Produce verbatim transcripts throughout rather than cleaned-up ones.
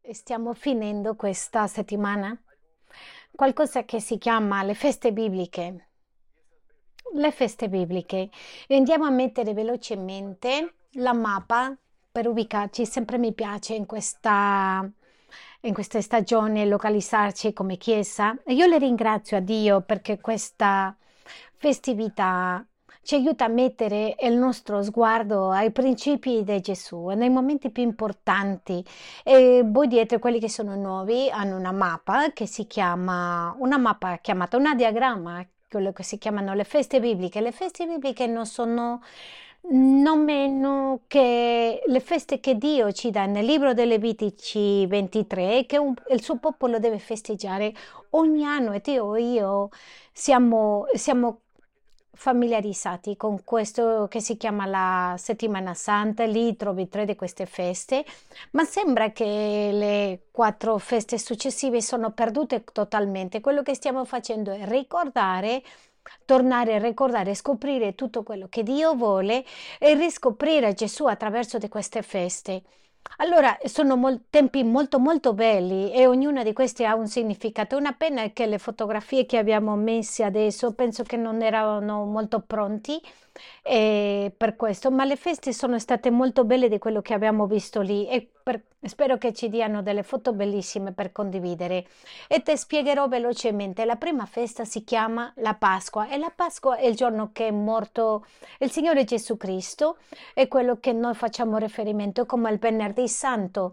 Stiamo finendo questa settimana qualcosa che si chiama le feste bibliche. Le feste bibliche. E andiamo a mettere velocemente la mappa per ubicarci. Sempre mi piace in questa, in queste stagioni localizzarci come chiesa. E io le ringrazio a Dio perché questa festività ci aiuta a mettere il nostro sguardo ai principi di Gesù, nei momenti più importanti. E voi dietro, quelli che sono nuovi, hanno una mappa che si chiama, una mappa chiamata una diagramma, quello che si chiamano le feste bibliche. Le feste bibliche non sono non meno che le feste che Dio ci dà nel libro dei Levitici ventitré, che un- il suo popolo deve festeggiare ogni anno. E Dio e io siamo, siamo familiarizzati con questo che si chiama la Settimana Santa, lì trovi tre di queste feste, ma sembra che le quattro feste successive sono perdute totalmente. Quello che stiamo facendo è ricordare, tornare a ricordare, scoprire tutto quello che Dio vuole e riscoprire Gesù attraverso di queste feste. Allora, sono mol- tempi molto molto belli e ognuna di questi ha un significato. Una pena è che le fotografie che abbiamo messo adesso penso che non erano molto pronti eh, per questo, ma le feste sono state molto belle di quello che abbiamo visto lì e per- spero che ci diano delle foto bellissime per condividere. E ti spiegherò velocemente. La prima festa si chiama la Pasqua e la Pasqua è il giorno che è morto il Signore Gesù Cristo, è quello che noi facciamo riferimento come il venerdì santo.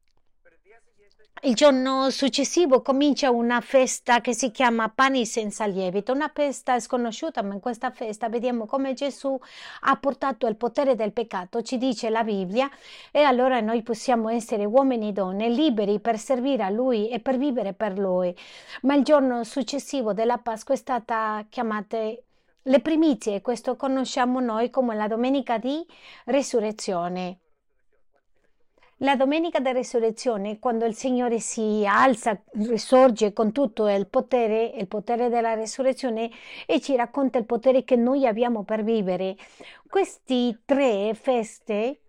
Il giorno successivo comincia una festa che si chiama Pani senza lievito, una festa sconosciuta, ma in questa festa vediamo come Gesù ha portato il potere del peccato, ci dice la Bibbia, e allora noi possiamo essere uomini e donne liberi per servire a Lui e per vivere per Lui. Ma il giorno successivo della Pasqua è stata chiamata le primizie, questo conosciamo noi come la domenica di resurrezione. La domenica della resurrezione, quando il Signore si alza, risorge con tutto il potere, il potere della resurrezione e ci racconta il potere che noi abbiamo per vivere. Queste tre feste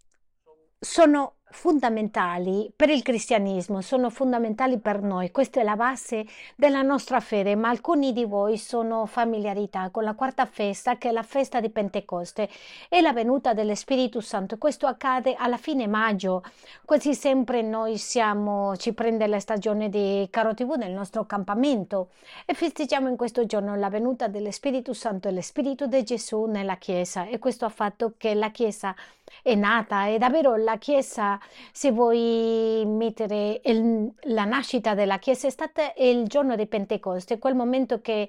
sono fondamentali per il cristianesimo, sono fondamentali per noi. Questa è la base della nostra fede, ma alcuni di voi sono familiarità con la quarta festa, che è la festa di Pentecoste e la venuta dello Spirito Santo. Questo accade alla fine maggio, quasi sempre noi siamo, ci prende la stagione di Caro T V nel nostro campamento e festeggiamo in questo giorno la venuta dello Spirito Santo e lo Spirito di Gesù nella Chiesa e questo ha fatto che la Chiesa è nata e davvero la Chiesa, se vuoi mettere il- la nascita della Chiesa, è stata il giorno di Pentecoste, quel momento che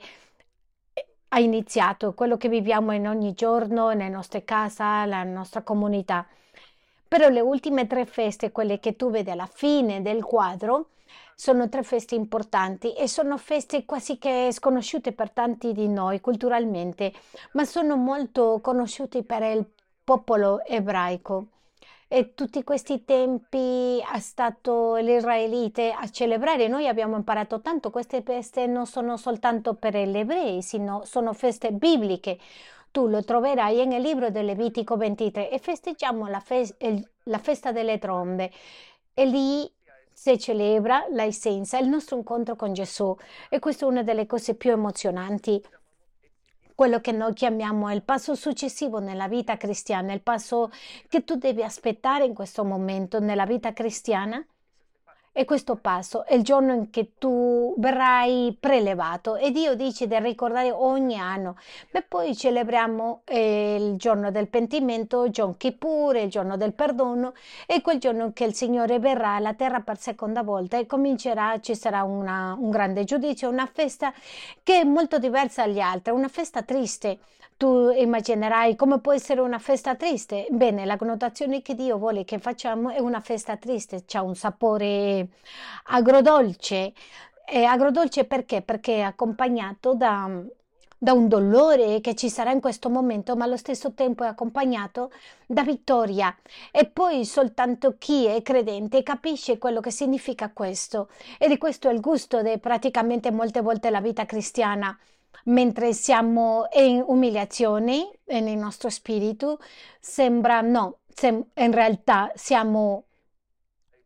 ha iniziato, quello che viviamo in ogni giorno, nelle nostre case, la nostra comunità. Però le ultime tre feste, quelle che tu vedi alla fine del quadro, sono tre feste importanti e sono feste quasi che sconosciute per tanti di noi culturalmente, ma sono molto conosciuti per il popolo ebraico. E tutti questi tempi è stato l'Israelite a celebrare. Noi abbiamo imparato tanto, queste feste non sono soltanto per gli ebrei, sino sono feste bibliche. Tu lo troverai nel libro del Levitico ventitré e festeggiamo la, fes- il- la festa delle trombe e lì si celebra l'essenza, il nostro incontro con Gesù e questa è una delle cose più emozionanti, quello che noi chiamiamo il passo successivo nella vita cristiana, il passo che tu devi aspettare in questo momento nella vita cristiana. E questo passo è il giorno in che tu verrai prelevato e Dio dice di ricordare ogni anno. E poi celebriamo eh, il giorno del pentimento, Yom Kippur, il giorno del perdono e quel giorno in che il Signore verrà alla terra per seconda volta e comincerà, ci sarà una- un grande giudizio, una festa che è molto diversa dagli altri, una festa triste. Tu immaginerai come può essere una festa triste. Bene, la connotazione che Dio vuole che facciamo è una festa triste, c'ha un sapore agrodolce. E agrodolce perché? Perché è accompagnato da, da un dolore che ci sarà in questo momento, ma allo stesso tempo è accompagnato da vittoria. E poi soltanto chi è credente capisce quello che significa questo. E di questo è il gusto di praticamente molte volte la vita cristiana. Mentre siamo in umiliazione e nel nostro spirito, sembra no, sem- in realtà siamo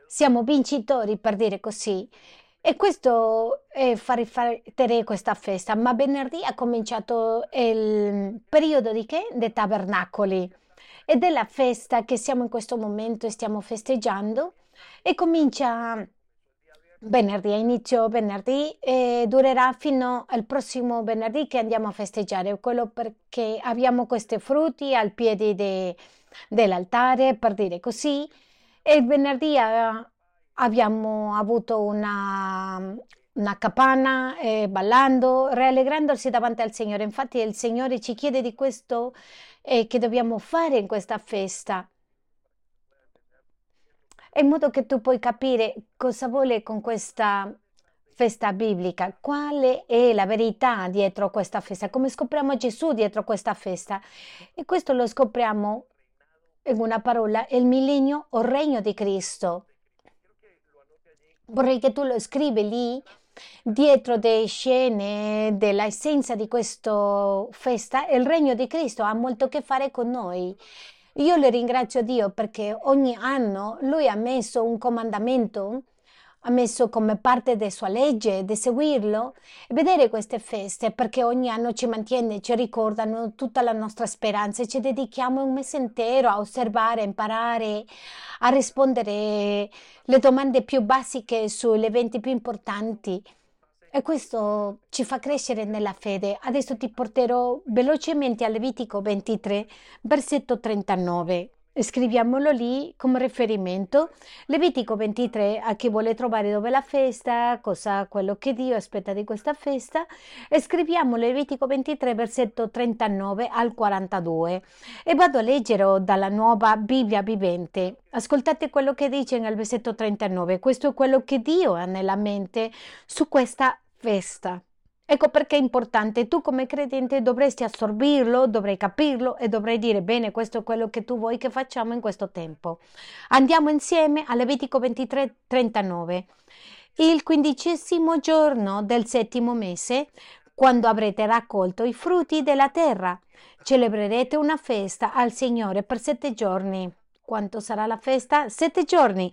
siamo vincitori, per dire così. E questo è fa riflettere questa festa, ma venerdì ha cominciato il periodo di che? Dei tabernacoli. Ed è la festa che siamo in questo momento e stiamo festeggiando e comincia venerdì, a inizio venerdì e durerà fino al prossimo venerdì che andiamo a festeggiare, quello perché abbiamo questi frutti al piede de- dell'altare, per dire così, e il venerdì eh, abbiamo avuto una, una capanna eh, ballando, rallegrandosi davanti al Signore. Infatti il Signore ci chiede di questo eh, che dobbiamo fare in questa festa in modo che tu puoi capire cosa vuole con questa festa biblica, quale è la verità dietro questa festa, come scopriamo Gesù dietro questa festa. E questo lo scopriamo in una parola, il millennio o regno di Cristo. Vorrei che tu lo scrivi lì, dietro le scene dell'essenza di questa festa, il regno di Cristo ha molto a che fare con noi. Io le ringrazio Dio perché ogni anno Lui ha messo un comandamento, ha messo come parte della sua legge di seguirlo e vedere queste feste perché ogni anno ci mantiene, ci ricordano tutta la nostra speranza e ci dedichiamo un mese intero a osservare, a imparare, a rispondere le domande più basiche sugli eventi più importanti. E questo ci fa crescere nella fede. Adesso ti porterò velocemente a Levitico ventitré, versetto trentanove. Scriviamolo lì come riferimento. Levitico ventitré, a chi vuole trovare dove è la festa, cosa quello che Dio aspetta di questa festa. E scriviamo Levitico ventitré, versetto trentanove al quarantadue. E vado a leggere dalla nuova Bibbia vivente. Ascoltate quello che dice nel versetto trentanove. Questo è quello che Dio ha nella mente su questa festa. Ecco perché è importante, tu come credente dovresti assorbirlo, dovrai capirlo e dovrai dire bene, questo è quello che tu vuoi che facciamo in questo tempo. Andiamo insieme a Levitico ventitré trentanove. Il quindicesimo giorno del settimo mese, quando avrete raccolto i frutti della terra, celebrerete una festa al Signore per sette giorni. Quanto sarà la festa? Sette giorni.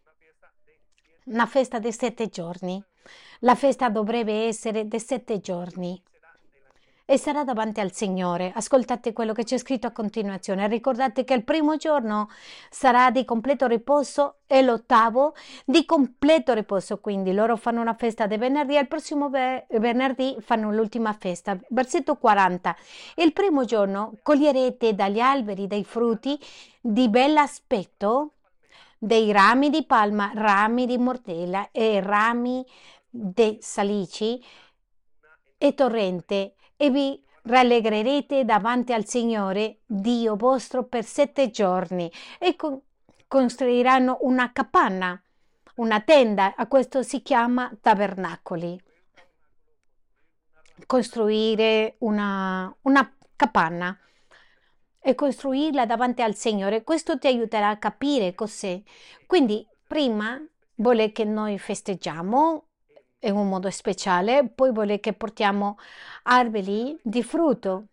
Una festa di sette giorni. La festa dovrebbe essere di sette giorni e sarà davanti al Signore. Ascoltate quello che c'è scritto a continuazione. Ricordate che il primo giorno sarà di completo riposo e l'ottavo di completo riposo. Quindi loro fanno una festa di venerdì e il prossimo ve- venerdì fanno l'ultima festa. Versetto quaranta. Il primo giorno coglierete dagli alberi dei frutti di bell'aspetto, dei rami di palma, rami di mortella e rami di salici e torrente e vi rallegrerete davanti al Signore Dio vostro per sette giorni e con- costruiranno una capanna, una tenda, a questo si chiama tabernacoli. Costruire una, una capanna e costruirla davanti al Signore. Questo ti aiuterà a capire cos'è. Quindi, prima vuole che noi festeggiamo in un modo speciale, poi vuole che portiamo alberi di frutto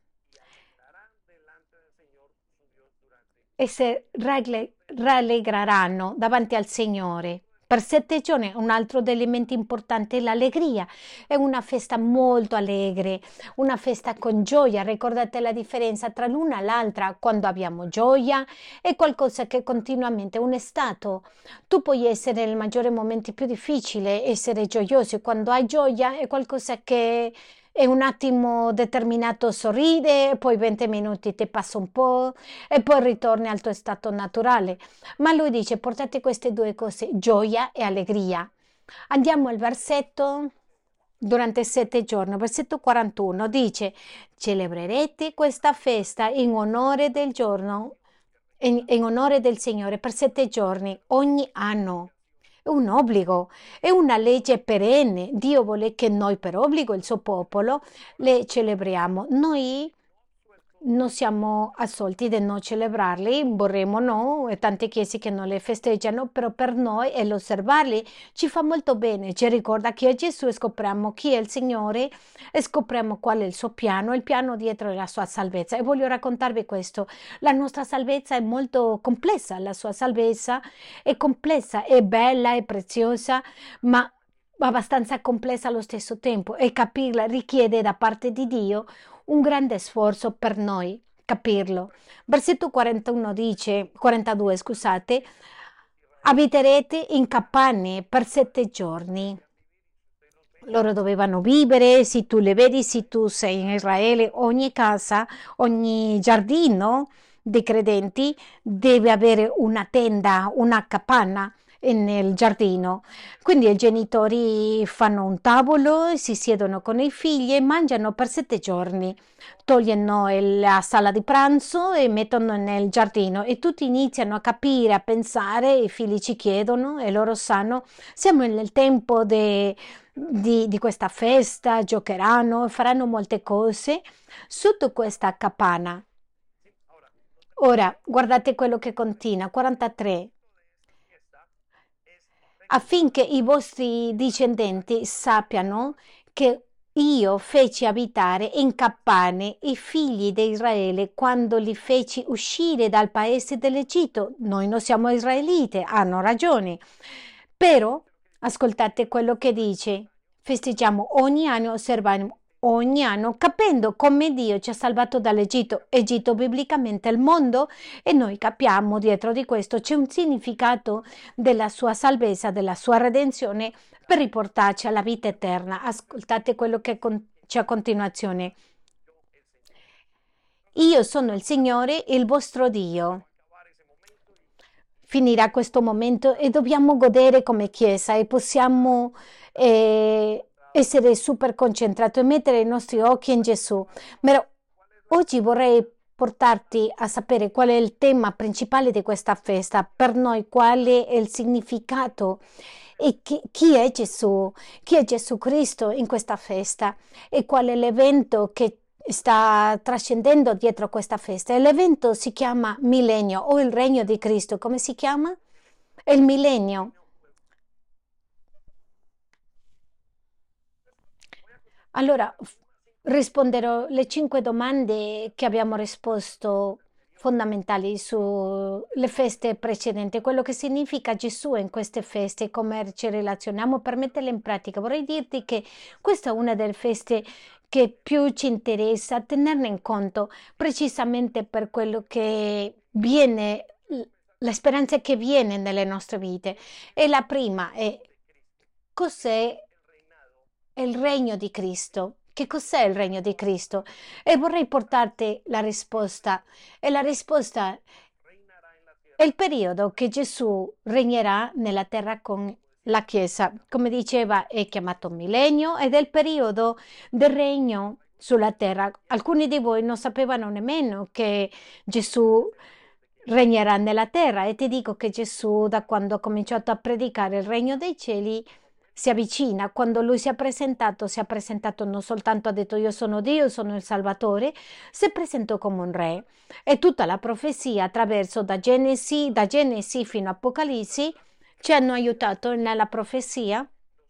e si ragle- rallegreranno davanti al Signore. Per sette giorni un altro degli elementi importanti è l'allegria. È una festa molto allegre, una festa con gioia. Ricordate la differenza tra l'una e l'altra. Quando abbiamo gioia è qualcosa che continuamente è un stato. Tu puoi essere nei maggiori momenti più difficili, essere gioioso. Quando hai gioia è qualcosa che è un attimo determinato sorride, poi venti minuti ti passa un po' e poi ritorni al tuo stato naturale. Ma lui dice, portate queste due cose, gioia e allegria. Andiamo al versetto durante sette giorni, versetto quarantuno, dice, celebrerete questa festa in onore del giorno, in, in onore del Signore per sette giorni ogni anno. È un obbligo, è una legge perenne. Dio vuole che noi per obbligo, il suo popolo, le celebriamo. Noi non siamo assolti di non celebrarli, vorremmo no, e tante chiese che non le festeggiano, però per noi e l'osservarli ci fa molto bene, ci ricorda chi è Gesù e scopriamo chi è il Signore e scopriamo qual è il suo piano, il piano dietro la sua salvezza. E voglio raccontarvi questo, la nostra salvezza è molto complessa, la sua salvezza è complessa, è bella, è preziosa, ma abbastanza complessa allo stesso tempo e capirla richiede da parte di Dio un grande sforzo per noi capirlo. Versetto quarantuno dice, quarantadue, scusate, abiterete in capanne per sette giorni. Loro dovevano vivere, se tu le vedi, se tu sei in Israele, ogni casa, ogni giardino dei credenti deve avere una tenda, una capanna nel giardino. Quindi i genitori fanno un tavolo, si siedono con i figli e mangiano per sette giorni. Togliono la sala di pranzo e mettono nel giardino e tutti iniziano a capire, a pensare, i figli ci chiedono e loro sanno, siamo nel tempo de- di, di questa festa, giocheranno, faranno molte cose sotto questa capanna. Ora, guardate quello che continua, quarantatré, affinché i vostri discendenti sappiano che io feci abitare in capanne i figli di Israele quando li feci uscire dal paese dell'Egitto. Noi non siamo israelite, hanno ragione. Però, ascoltate quello che dice, festeggiamo ogni anno, osserviamo ogni anno, capendo come Dio ci ha salvato dall'Egitto. Egitto biblicamente è il mondo e noi capiamo dietro di questo c'è un significato della sua salvezza, della sua redenzione per riportarci alla vita eterna. Ascoltate quello che con- c'è a continuazione. Io sono il Signore, il vostro Dio. Finirà questo momento e dobbiamo godere come Chiesa e possiamo eh, essere super concentrati e mettere i nostri occhi in Gesù. Ma oggi vorrei portarti a sapere qual è il tema principale di questa festa, per noi qual è il significato e chi, chi è Gesù, chi è Gesù Cristo in questa festa e qual è l'evento che sta trascendendo dietro questa festa. E l'evento si chiama Millennio o il Regno di Cristo. Come si chiama? È il millennio. Allora, f- risponderò le cinque domande che abbiamo risposto fondamentali sulle feste precedenti, quello che significa Gesù in queste feste, come ci relazioniamo per metterle in pratica. Vorrei dirti che questa è una delle feste che più ci interessa tenerne in conto, precisamente per quello che viene, la speranza che viene nelle nostre vite. E la prima è cos'è il regno di Cristo? Che cos'è il regno di Cristo? E vorrei portarti la risposta. E la risposta è il periodo che Gesù regnerà nella terra con la Chiesa. Come diceva, è chiamato millennio ed è il periodo del regno sulla terra. Alcuni di voi non sapevano nemmeno che Gesù regnerà nella terra e ti dico che Gesù, da quando ha cominciato a predicare il regno dei cieli, si avvicina. Quando lui si è presentato, si è presentato non soltanto ha detto io sono Dio, sono il Salvatore, si presentò come un re. E tutta la profezia attraverso da Genesi, da Genesi fino a Apocalisse ci hanno aiutato nella profezia,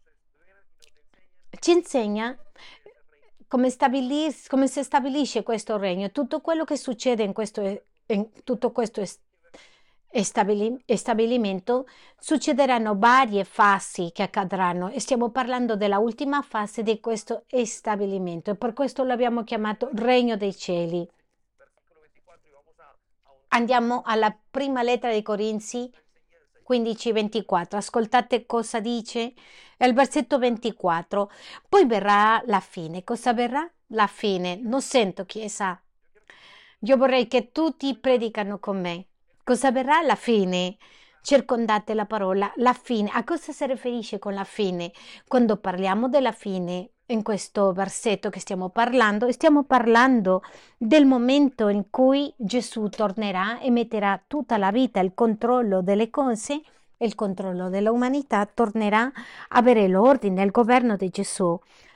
ci insegna come, stabilis- come si stabilisce questo regno, tutto quello che succede in questo, in tutto questo est- estabili- stabilimento, succederanno varie fasi che accadranno e stiamo parlando della ultima fase di questo stabilimento e per questo l'abbiamo chiamato Regno dei Cieli. Andiamo alla prima lettera dei Corinzi quindici ventiquattro. Ascoltate cosa dice il versetto ventiquattro. Poi verrà la fine. Cosa verrà? La fine. Non sento chiesa. Io vorrei che tutti predicano con me. Cosa verrà? La fine. Circondate la parola, la fine. A cosa si riferisce con la fine? Quando parliamo della fine, in questo versetto che stiamo parlando, stiamo parlando del momento in cui Gesù tornerà e metterà tutta la vita, il controllo delle cose, il controllo dell'umanità, tornerà a avere l'ordine, il governo di Gesù.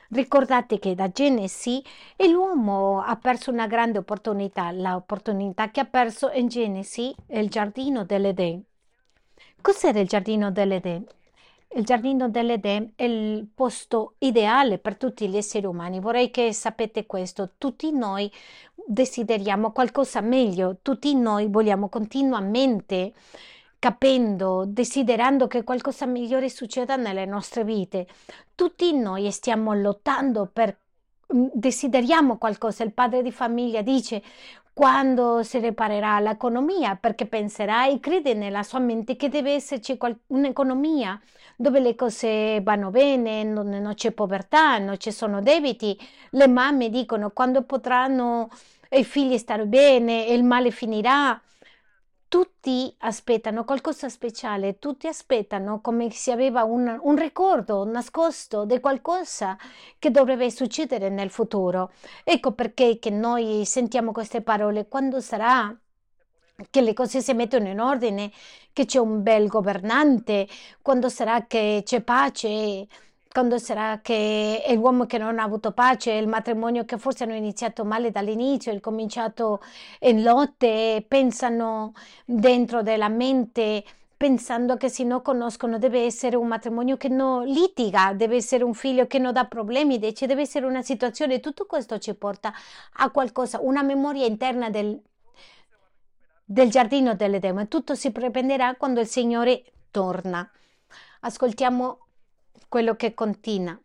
Ricordate che da Genesi e l'uomo ha perso una grande opportunità, l'opportunità che ha perso in Genesi è il giardino dell'Eden. Cos'era il giardino dell'Eden? Il giardino dell'Eden è il posto ideale per tutti gli esseri umani. Vorrei che sapete questo. Tutti noi desideriamo qualcosa meglio, tutti noi vogliamo continuamente capendo, desiderando che qualcosa migliore succeda nelle nostre vite. Tutti noi stiamo lottando per mm, desideriamo qualcosa. Il padre di famiglia dice quando si riparerà l'economia, perché penserà e crede nella sua mente che deve esserci qual- un'economia dove le cose vanno bene, non, non c'è povertà, non ci sono debiti. Le mamme dicono quando potranno i figli stare bene e il male finirà. Tutti aspettano qualcosa speciale, tutti aspettano come se aveva un, un ricordo nascosto di qualcosa che dovrebbe succedere nel futuro. Ecco perché che noi sentiamo queste parole. Quando sarà che le cose si mettono in ordine, che c'è un bel governante, quando sarà che c'è pace, quando sarà che è l'uomo che non ha avuto pace, il matrimonio che forse hanno iniziato male dall'inizio, è cominciato in lotte, pensano dentro della mente, pensando che se non conoscono deve essere un matrimonio che non litiga, deve essere un figlio che non dà problemi, invece deve essere una situazione, tutto questo ci porta a qualcosa, una memoria interna del, del giardino dell'Edemo e tutto si riprenderà quando il Signore torna. Ascoltiamo quello che continua.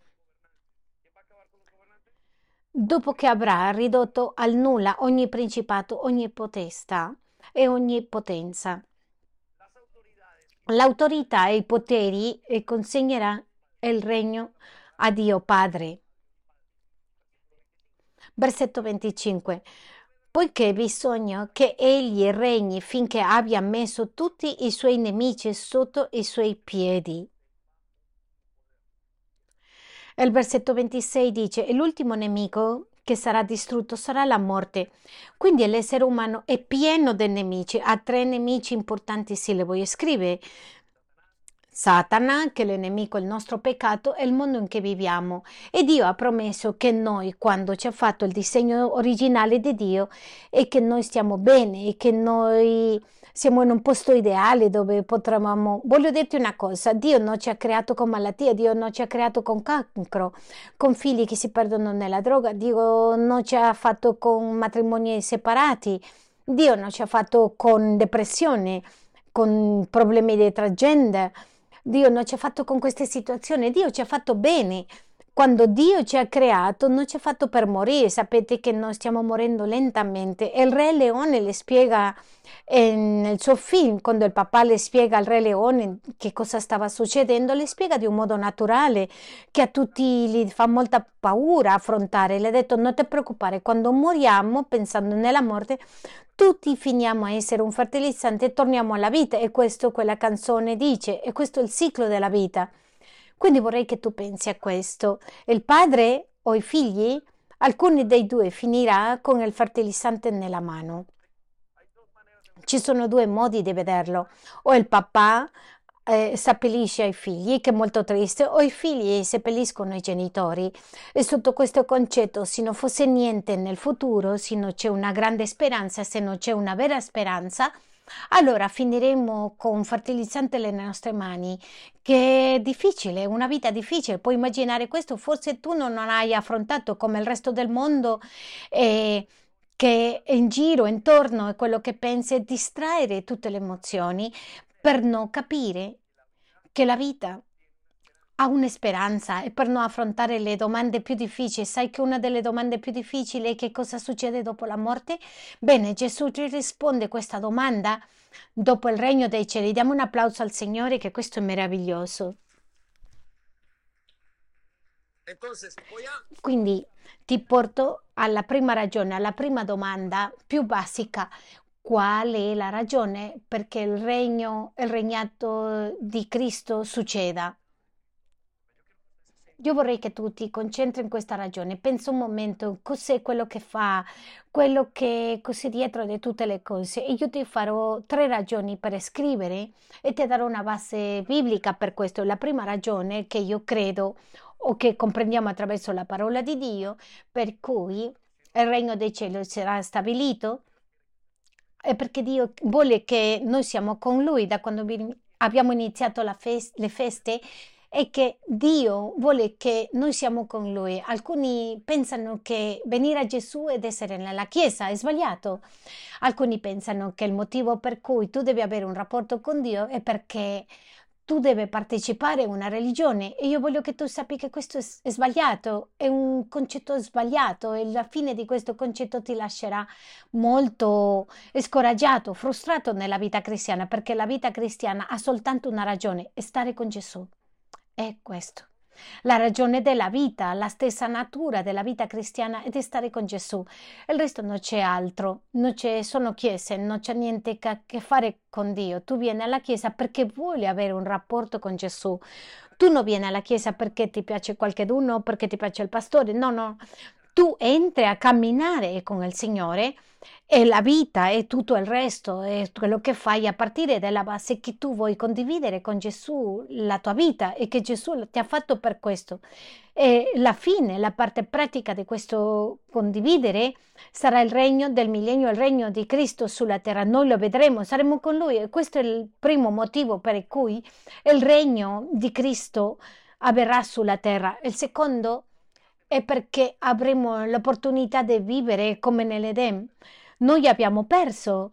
Dopo che avrà ridotto al nulla ogni principato, ogni potestà e ogni potenza, l'autorità e i poteri e consegnerà il regno a Dio Padre. Versetto venticinque. Poiché bisogna che egli regni finché abbia messo tutti i suoi nemici sotto i suoi piedi. E il versetto ventisei dice, e l'ultimo nemico che sarà distrutto sarà la morte. Quindi l'essere umano è pieno di nemici, ha tre nemici importanti, se le voglio scrivere. Satana, che è il nemico, il nostro peccato, e il mondo in cui viviamo. E Dio ha promesso che noi, quando ci ha fatto il disegno originale di Dio, e che noi stiamo bene, e che noi siamo in un posto ideale dove potremmo. Voglio dirti una cosa: Dio non ci ha creato con malattia, Dio non ci ha creato con cancro, con figli che si perdono nella droga, Dio non ci ha fatto con matrimoni separati, Dio non ci ha fatto con depressione, con problemi di transgender. Dio non ci ha fatto con queste situazioni, Dio ci ha fatto bene. Quando Dio ci ha creato, non ci ha fatto per morire. Sapete che noi stiamo morendo lentamente. E il Re Leone le spiega eh, nel suo film, quando il papà le spiega al Re Leone che cosa stava succedendo, le spiega di un modo naturale, che a tutti gli fa molta paura affrontare. Le ha detto: non ti preoccupare, quando moriamo, pensando nella morte, tutti finiamo a essere un fertilizzante e torniamo alla vita. E questo quella canzone dice, e questo è il ciclo della vita. Quindi vorrei che tu pensi a questo. Il padre o i figli, alcuni dei due finirà con il fertilizzante nella mano. Ci sono due modi di vederlo. O il papà eh, seppellisce i figli, che è molto triste, o i figli seppelliscono i genitori. E sotto questo concetto, se non fosse niente nel futuro, se non c'è una grande speranza, se non c'è una vera speranza, allora finiremo con un fertilizzante nelle nostre mani, che è difficile, una vita difficile. Puoi immaginare questo? Forse tu non hai affrontato come il resto del mondo, eh, che è in giro, intorno, è quello che pensi, e distraere tutte le emozioni per non capire che la vita ha una speranza e per non affrontare le domande più difficili. Sai che una delle domande più difficili è che cosa succede dopo la morte? Bene, Gesù ci risponde questa domanda dopo il regno dei cieli. Diamo un applauso al Signore, che questo è meraviglioso. Quindi ti porto alla prima ragione, alla prima domanda più basica. Qual è la ragione perché il regno, il regnato di Cristo succeda? Io vorrei che tu ti concentri in questa ragione. Pensa un momento, cos'è quello che fa, quello che cos'è dietro di tutte le cose. E io ti farò tre ragioni per scrivere e ti darò una base biblica per questo. La prima ragione che io credo o che comprendiamo attraverso la parola di Dio, per cui il regno dei cieli sarà stabilito, è perché Dio vuole che noi siamo con Lui da quando vi- abbiamo iniziato la fes- le feste e che Dio vuole che noi siamo con Lui. Alcuni pensano che venire a Gesù ed essere nella Chiesa è sbagliato. Alcuni pensano che il motivo per cui tu devi avere un rapporto con Dio è perché tu devi partecipare a una religione e io voglio che tu sappi che questo è, s- è sbagliato, è un concetto sbagliato e la fine di questo concetto ti lascerà molto scoraggiato, frustrato nella vita cristiana, perché la vita cristiana ha soltanto una ragione, è stare con Gesù. È questo. La ragione della vita, la stessa natura della vita cristiana è di stare con Gesù. Il resto non c'è altro, non c'è, sono chiese, non c'è niente a che fare con Dio. Tu vieni alla chiesa perché vuoi avere un rapporto con Gesù. Tu non vieni alla chiesa perché ti piace qualcheduno, perché ti piace il pastore. No, no. Tu entri a camminare con il Signore e la vita e tutto il resto è quello che fai a partire dalla base che tu vuoi condividere con Gesù la tua vita e che Gesù ti ha fatto per questo. E la fine, la parte pratica di questo condividere sarà il regno del millennio, il regno di Cristo sulla terra. Noi lo vedremo, saremo con Lui e questo è il primo motivo per cui il regno di Cristo avverrà sulla terra. Il secondo è perché avremo l'opportunità di vivere come nell'Eden. Noi abbiamo perso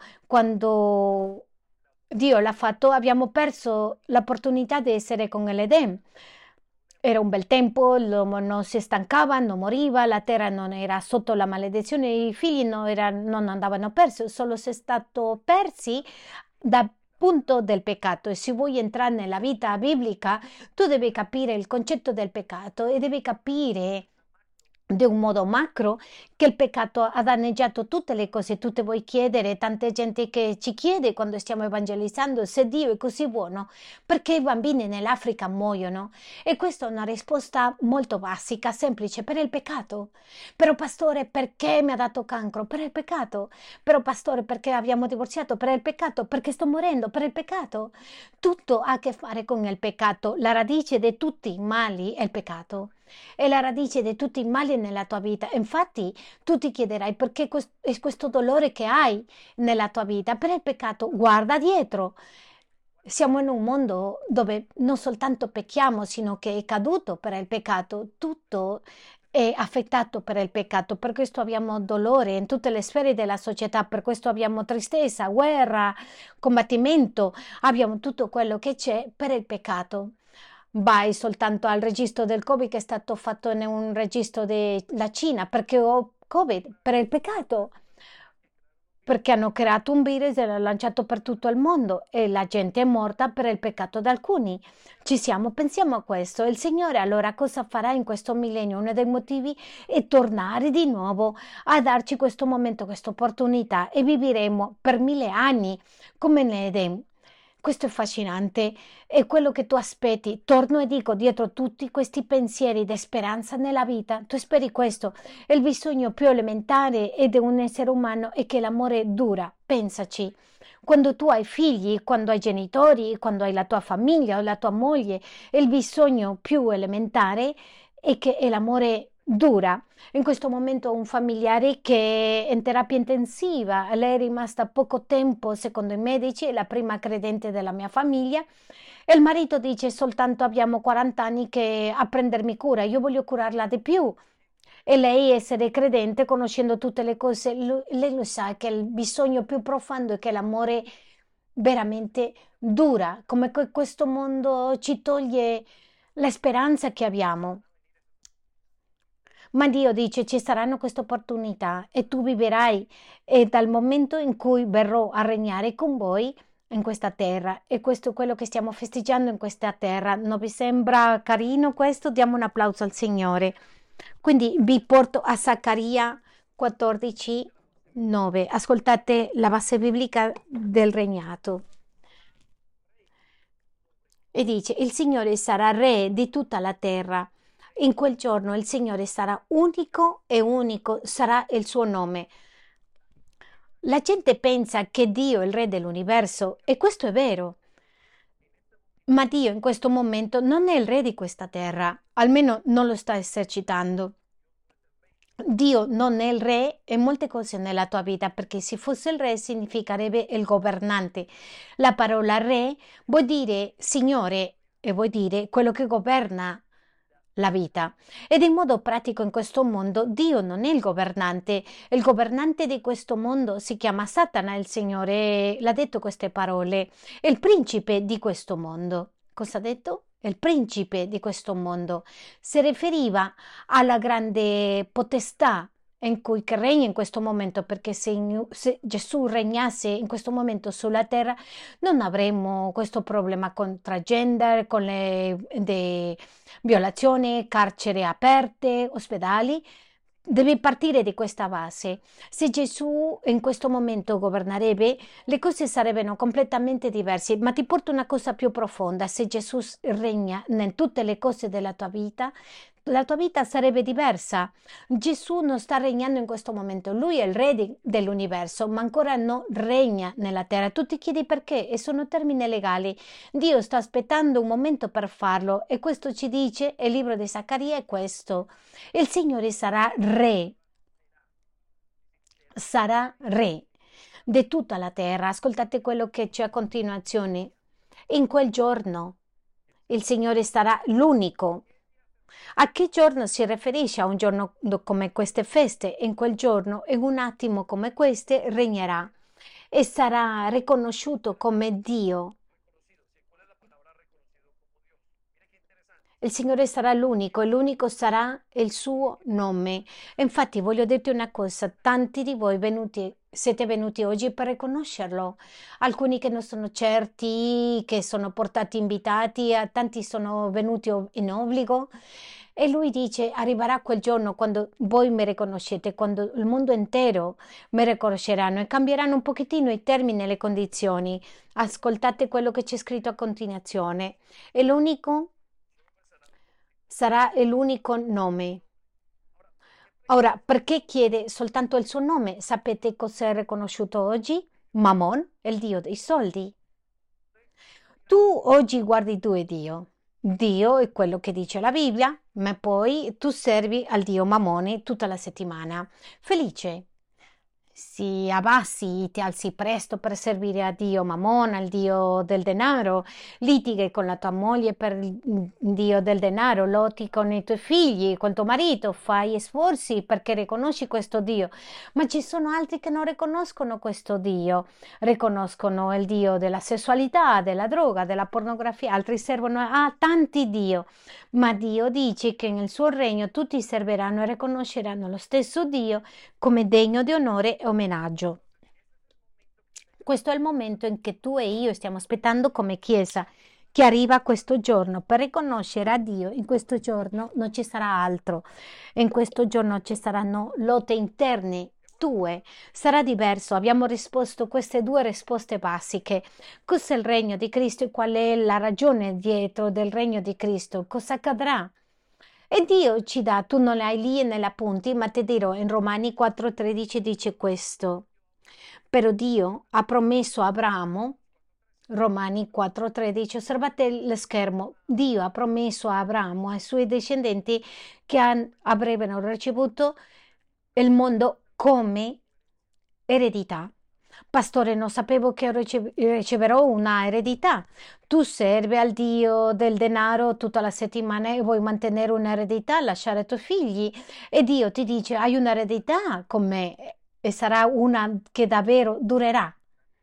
quando Dio l'ha fatto, abbiamo perso l'opportunità di essere con l'Eden. Era un bel tempo, l'uomo non si stancava, non moriva, la terra non era sotto la maledizione, i figli non, era- non andavano persi, solo si è stato persi dal punto del peccato. E se vuoi entrare nella vita biblica, tu devi capire il concetto del peccato e devi capire di un modo macro che il peccato ha danneggiato tutte le cose. Tu ti vuoi chiedere, tanta gente che ci chiede quando stiamo evangelizzando, se Dio è così buono, perché i bambini nell'Africa muoiono? E questa è una risposta molto basica, semplice, per il peccato. Però pastore, perché mi ha dato cancro? Per il peccato. Però pastore, perché abbiamo divorziato? Per il peccato. Perché sto morendo? Per il peccato. Tutto ha a che fare con il peccato. La radice di tutti i mali è il peccato. È la radice di tutti i mali nella tua vita. Infatti, tu ti chiederai perché quest- è questo dolore che hai nella tua vita per il peccato. Guarda dietro. Siamo in un mondo dove non soltanto pecchiamo, sino che è caduto per il peccato. Tutto è affettato per il peccato. Per questo abbiamo dolore in tutte le sfere della società. Per questo abbiamo tristezza, guerra, combattimento. Abbiamo tutto quello che c'è per il peccato. Vai soltanto al registro del Covid che è stato fatto in un registro della Cina perché ho Covid per il peccato, perché hanno creato un virus e l'hanno lanciato per tutto il mondo e la gente è morta per il peccato di alcuni. Ci siamo, pensiamo a questo. Il Signore allora cosa farà in questo millennio? Uno dei motivi è tornare di nuovo a darci questo momento, questa opportunità e vivremo per mille anni come nell'Eden. Questo è affascinante, è quello che tu aspetti. Torno e dico, dietro tutti questi pensieri di speranza nella vita, tu speri questo. E il bisogno più elementare è di un essere umano è che l'amore dura. Pensaci. Quando tu hai figli, quando hai genitori, quando hai la tua famiglia o la tua moglie, il bisogno più elementare è che è l'amore dura. In questo momento ho un familiare che è in terapia intensiva, lei è rimasta poco tempo, secondo i medici, è la prima credente della mia famiglia e il marito dice soltanto abbiamo quaranta anni che a prendermi cura, io voglio curarla di più. E lei essere credente, conoscendo tutte le cose, lu- lei lo sa che il bisogno più profondo è che l'amore veramente dura, come que- questo mondo ci toglie la speranza che abbiamo. Ma Dio dice ci saranno queste opportunità e tu viverai e dal momento in cui verrò a regnare con voi in questa terra e questo è quello che stiamo festeggiando in questa terra. Non vi sembra carino questo? Diamo un applauso al Signore. Quindi vi porto a Zaccaria quattordici, nove. Ascoltate la base biblica del regnato. E dice, il Signore sarà re di tutta la terra. In quel giorno il Signore sarà unico e unico sarà il suo nome. La gente pensa che Dio è il re dell'universo e questo è vero. Ma Dio in questo momento non è il re di questa terra, almeno non lo sta esercitando. Dio non è il re e molte cose nella tua vita, perché se fosse il re significherebbe il governante. La parola re vuol dire signore e vuol dire quello che governa la vita. Ed in modo pratico in questo mondo Dio non è il governante, il governante di questo mondo si chiama Satana, il Signore l'ha detto queste parole, è il principe di questo mondo. Cosa ha detto? È il principe di questo mondo. Si riferiva alla grande potestà in cui che regna in questo momento, perché se, in- se Gesù regnasse in questo momento sulla terra non avremmo questo problema con transgender, con le de- violazioni, carceri aperte, ospedali. Devi partire di questa base. Se Gesù in questo momento governerebbe, le cose sarebbero completamente diverse, ma ti porto una cosa più profonda. Se Gesù s- regna in tutte le cose della tua vita, la tua vita sarebbe diversa. Gesù non sta regnando in questo momento, lui è il re di- dell'universo, ma ancora non regna nella terra. Tu ti chiedi perché? E sono termini legali. Dio sta aspettando un momento per farlo e questo ci dice, il libro di Zaccaria è questo. Il Signore sarà re, sarà re di tutta la terra. Ascoltate quello che c'è a continuazione. In quel giorno il Signore sarà l'unico. A che giorno si riferisce? A un giorno come queste feste? In quel giorno, in un attimo come queste, regnerà e sarà riconosciuto come Dio. Il Signore sarà l'unico e l'unico sarà il suo nome. E infatti voglio dirti una cosa, tanti di voi venuti, siete venuti oggi per riconoscerlo, alcuni che non sono certi, che sono portati invitati, a tanti sono venuti o- in obbligo. E lui dice, arriverà quel giorno quando voi mi riconoscete, quando il mondo intero mi riconosceranno e cambieranno un pochettino i termini e le condizioni. Ascoltate quello che c'è scritto a continuazione. È l'unico sarà l'unico nome. Ora, perché chiede soltanto il suo nome? Sapete cos'è riconosciuto oggi? Mammon, il dio dei soldi. Tu oggi guardi due Dio. Dio è quello che dice la Bibbia, ma poi tu servi al dio Mammone tutta la settimana. Felice. Si abbassi, ti alzi presto per servire a Dio Mammona, il Dio del denaro, litighi con la tua moglie per il Dio del denaro, lotti con i tuoi figli, con tuo marito, fai sforzi perché riconosci questo Dio. Ma ci sono altri che non riconoscono questo Dio, riconoscono il Dio della sessualità, della droga, della pornografia, altri servono a tanti Dio. Ma Dio dice che nel suo regno tutti serviranno e riconosceranno lo stesso Dio come degno di onore e omaggio. Questo è il momento in che tu e io stiamo aspettando come Chiesa, che arriva questo giorno per riconoscere a Dio. In questo giorno non ci sarà altro, in questo giorno ci saranno lotte interne tue, sarà diverso. Abbiamo risposto queste due risposte basiche. Cos'è il regno di Cristo e qual è la ragione dietro del regno di Cristo? Cosa accadrà? E Dio ci dà, tu non le hai lì nella punti, ma ti dirò, in Romani quattro tredici dice questo. Però Dio ha promesso a Abramo, Romani quattro tredici, osservate lo schermo, Dio ha promesso a Abramo, ai suoi discendenti, che han- avrebbero ricevuto il mondo come eredità. Pastore, non sapevo che ricev- riceverò una eredità. Tu servi al Dio del denaro tutta la settimana e vuoi mantenere un'eredità, lasciare i tuoi figli e Dio ti dice hai un'eredità con me e sarà una che davvero durerà.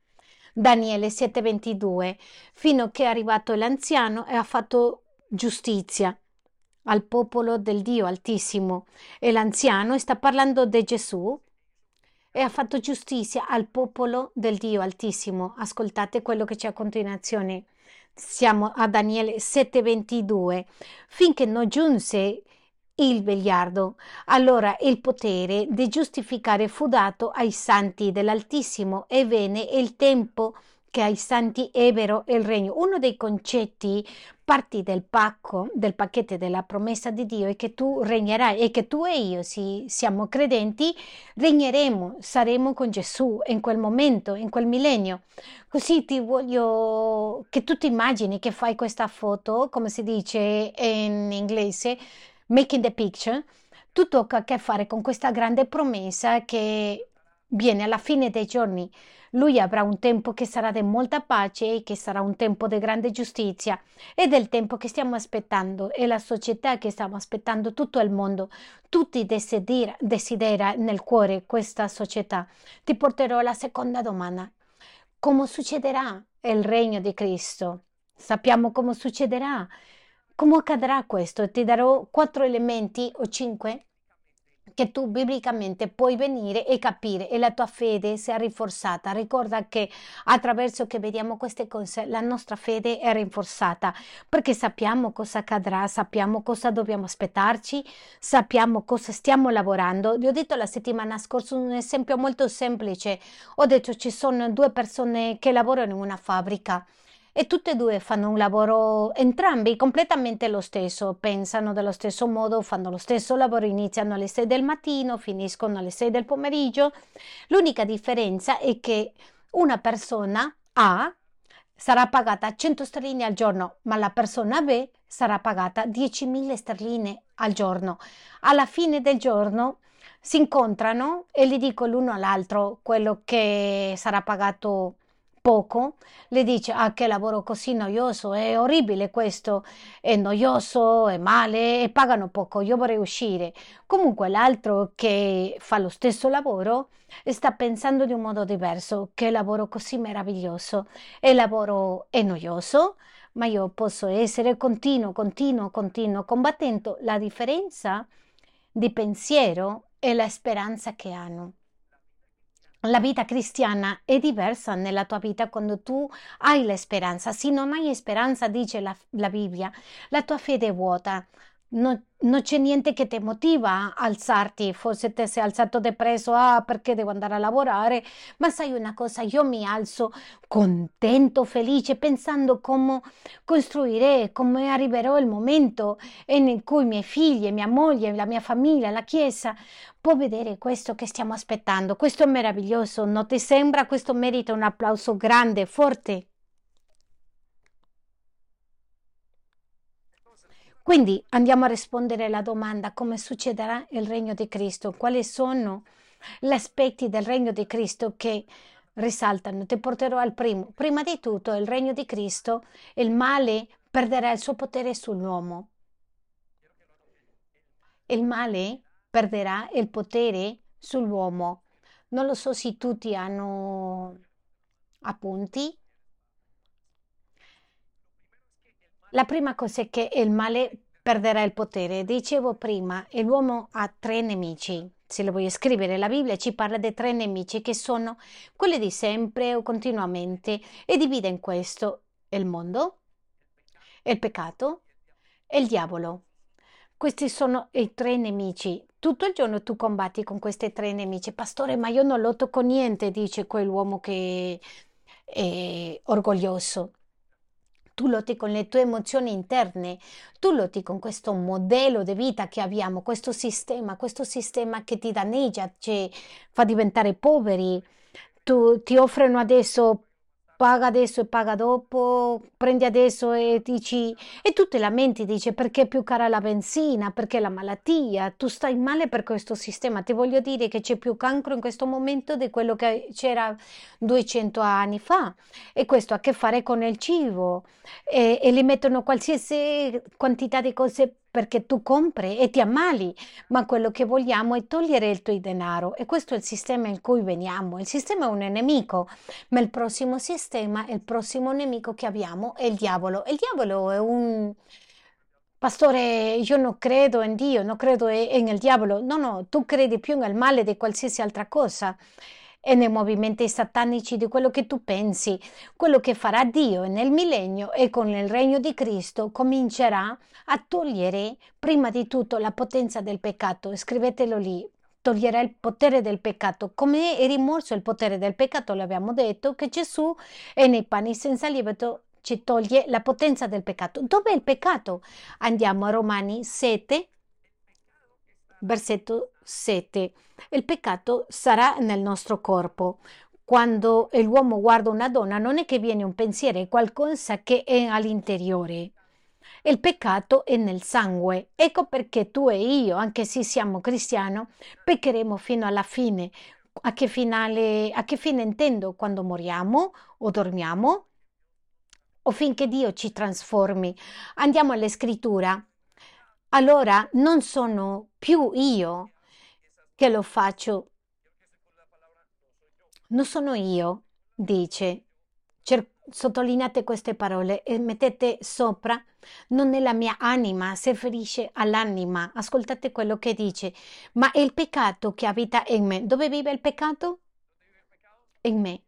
Daniele sette ventidue, fino a che è arrivato l'anziano e ha fatto giustizia al popolo del Dio Altissimo. E l'anziano sta parlando di Gesù e ha fatto giustizia al popolo del Dio Altissimo. Ascoltate quello che c'è a continuazione. Siamo a Daniele sette ventidue. Finché non giunse il vegliardo, allora il potere di giustificare fu dato ai santi dell'Altissimo e venne il tempo che ai santi ebbero il regno. Uno dei concetti, parti del pacco, del pacchetto della promessa di Dio è che tu regnerai e che tu e io, se siamo credenti, regneremo, saremo con Gesù in quel momento, in quel millennio. Così ti voglio che tu ti immagini che fai questa foto, come si dice in inglese, making the picture, tutto ha a che fare con questa grande promessa che viene alla fine dei giorni. Lui avrà un tempo che sarà di molta pace, che sarà un tempo di grande giustizia ed è il tempo che stiamo aspettando, è la società che stiamo aspettando, tutto il mondo. Tutti desidera, desidera nel cuore questa società. Ti porterò alla seconda domanda. Come succederà il regno di Cristo? Sappiamo come succederà. Come accadrà questo? Ti darò quattro elementi o cinque che tu biblicamente puoi venire e capire e la tua fede sia rinforzata. Ricorda che attraverso che vediamo queste cose la nostra fede è rinforzata perché sappiamo cosa accadrà, sappiamo cosa dobbiamo aspettarci, sappiamo cosa stiamo lavorando. Vi ho detto la settimana scorsa un esempio molto semplice. Ho detto ci sono due persone che lavorano in una fabbrica e tutte e due fanno un lavoro, entrambi completamente lo stesso, pensano dello stesso modo, fanno lo stesso lavoro, iniziano alle sei del mattino, finiscono alle sei del pomeriggio. L'unica differenza è che una persona A sarà pagata cento sterline al giorno, ma la persona B sarà pagata diecimila sterline al giorno. Alla fine del giorno si incontrano e gli dico l'uno all'altro quello che sarà pagato poco, le dice: ah, che lavoro così noioso, è orribile questo, è noioso, è male e pagano poco, io vorrei uscire. Comunque l'altro che fa lo stesso lavoro sta pensando di un modo diverso, che lavoro così meraviglioso, il lavoro è noioso, ma io posso essere continuo, continuo, continuo, combattendo. La differenza di pensiero e la speranza che hanno. La vita cristiana è diversa nella tua vita quando tu hai la speranza. Se non hai speranza, dice la, la Bibbia, la tua fede è vuota. No- non c'è niente che ti motiva a alzarti. Forse ti sei alzato depresso, ah, perché devo andare a lavorare. Ma sai una cosa, io mi alzo contento, felice, pensando come costruirò, come arriverò il momento in cui i miei figli, mia moglie, la mia famiglia, la Chiesa può vedere questo che stiamo aspettando. Questo è meraviglioso, non ti sembra? Questo merita un applauso grande, forte. Quindi andiamo a rispondere alla domanda: come succederà il regno di Cristo? Quali sono gli aspetti del regno di Cristo che risaltano? Ti porterò al primo. Prima di tutto, il regno di Cristo, il male perderà il suo potere sull'uomo. Il male perderà il potere sull'uomo. Non lo so se tutti hanno appunti. La prima cosa è che il male perderà il potere. Dicevo prima, e l'uomo ha tre nemici. Se lo voglio scrivere, la Bibbia ci parla di tre nemici che sono quelli di sempre o continuamente e divide in questo il mondo, il peccato e il diavolo. Questi sono i tre nemici. Tutto il giorno tu combatti con questi tre nemici. Pastore, ma io non lotto con niente, dice quell'uomo che è orgoglioso. Tu lotti con le tue emozioni interne, tu lotti con questo modello di vita che abbiamo, questo sistema, questo sistema che ti danneggia, ci fa diventare poveri. Tu, ti offrono adesso, paga adesso e paga dopo, prendi adesso e dici, e tu te lamenti, dici perché è più cara la benzina, perché la malattia, tu stai male per questo sistema. Ti voglio dire che c'è più cancro in questo momento di quello che c'era duecento anni fa e questo ha a che fare con il cibo e, e li mettono qualsiasi quantità di cose perché tu compri e ti ammali, ma quello che vogliamo è togliere il tuo denaro e questo è il sistema in cui veniamo. Il sistema è un nemico, ma il prossimo sistema, il prossimo nemico che abbiamo è il diavolo. Il diavolo è un... Pastore, io non credo in Dio, non credo e- nel diavolo. No, no, tu credi più nel male di qualsiasi altra cosa e nei movimenti satanici di quello che tu pensi. Quello che farà Dio nel millennio e con il regno di Cristo comincerà a togliere prima di tutto la potenza del peccato. Scrivetelo lì. toglierà il potere del peccato. Come è rimosso il potere del peccato, l'abbiamo detto, che Gesù è nei pani senza lievito ci toglie la potenza del peccato. Dov'è il peccato? Andiamo a Romani sette, versetto sette. Il peccato sarà nel nostro corpo. Quando l'uomo guarda una donna non è che viene un pensiero, è qualcosa che è all'interiore. Il peccato è nel sangue. Ecco perché tu e io, anche se siamo cristiani, peccheremo fino alla fine. A che finale, a che fine intendo? Quando moriamo o dormiamo o finché Dio ci trasformi. Andiamo alla scrittura. Allora non sono più io che lo faccio, non sono io, dice. Cer- sottolineate queste parole e mettete sopra, non è la mia anima, si riferisce all'anima. Ascoltate quello che dice, ma è il peccato che abita in me. Dove vive il peccato? In me.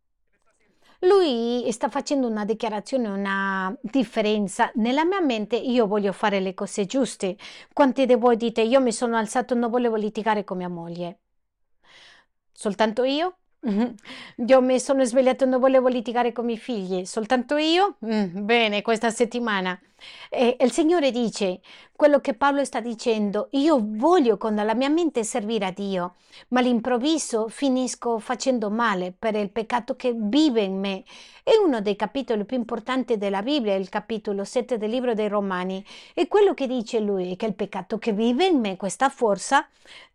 Lui sta facendo una dichiarazione, una differenza. Nella mia mente io voglio fare le cose giuste. Quanti di voi dite io mi sono alzato e non volevo litigare con mia moglie? Soltanto io? Mhm. Io mi sono svegliato e non volevo litigare con i miei figli. Soltanto io? Mm, bene, questa settimana. E il Signore dice quello che Paolo sta dicendo. Io voglio con la mia mente servire a Dio, ma all'improvviso finisco facendo male per il peccato che vive in me. È uno dei capitoli più importanti della Bibbia, il capitolo sette del libro dei Romani. E quello che dice lui è che il peccato che vive in me, questa forza,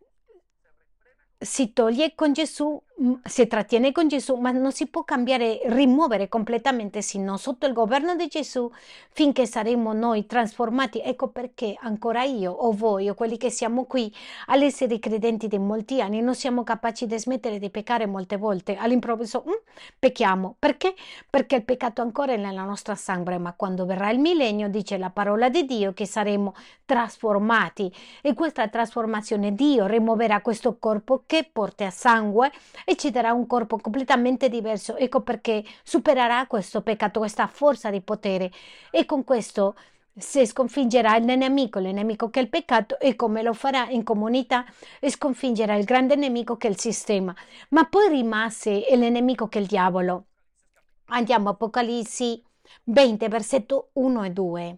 si toglie con Gesù, mm, si trattiene con Gesù, ma non si può cambiare, rimuovere completamente, sino sotto il governo di Gesù, finché saremo noi trasformati. Ecco perché ancora io o voi o quelli che siamo qui, all'essere credenti di molti anni, non siamo capaci di smettere di peccare molte volte. All'improvviso, mm, pecchiamo. Perché? Perché il peccato ancora è nella nostra sangue, ma quando verrà il millennio, dice la parola di Dio, che saremo trasformati. E questa trasformazione Dio rimuoverà questo corpo che porta a sangue e ci darà un corpo completamente diverso. Ecco perché supererà questo peccato, questa forza di potere. E con questo si sconfiggerà il nemico, il nemico che è il peccato, e come lo farà in comunità, sconfiggerà il grande nemico che è il sistema. Ma poi rimase il nemico che è il diavolo. Andiamo a Apocalissi venti, versetto uno e due.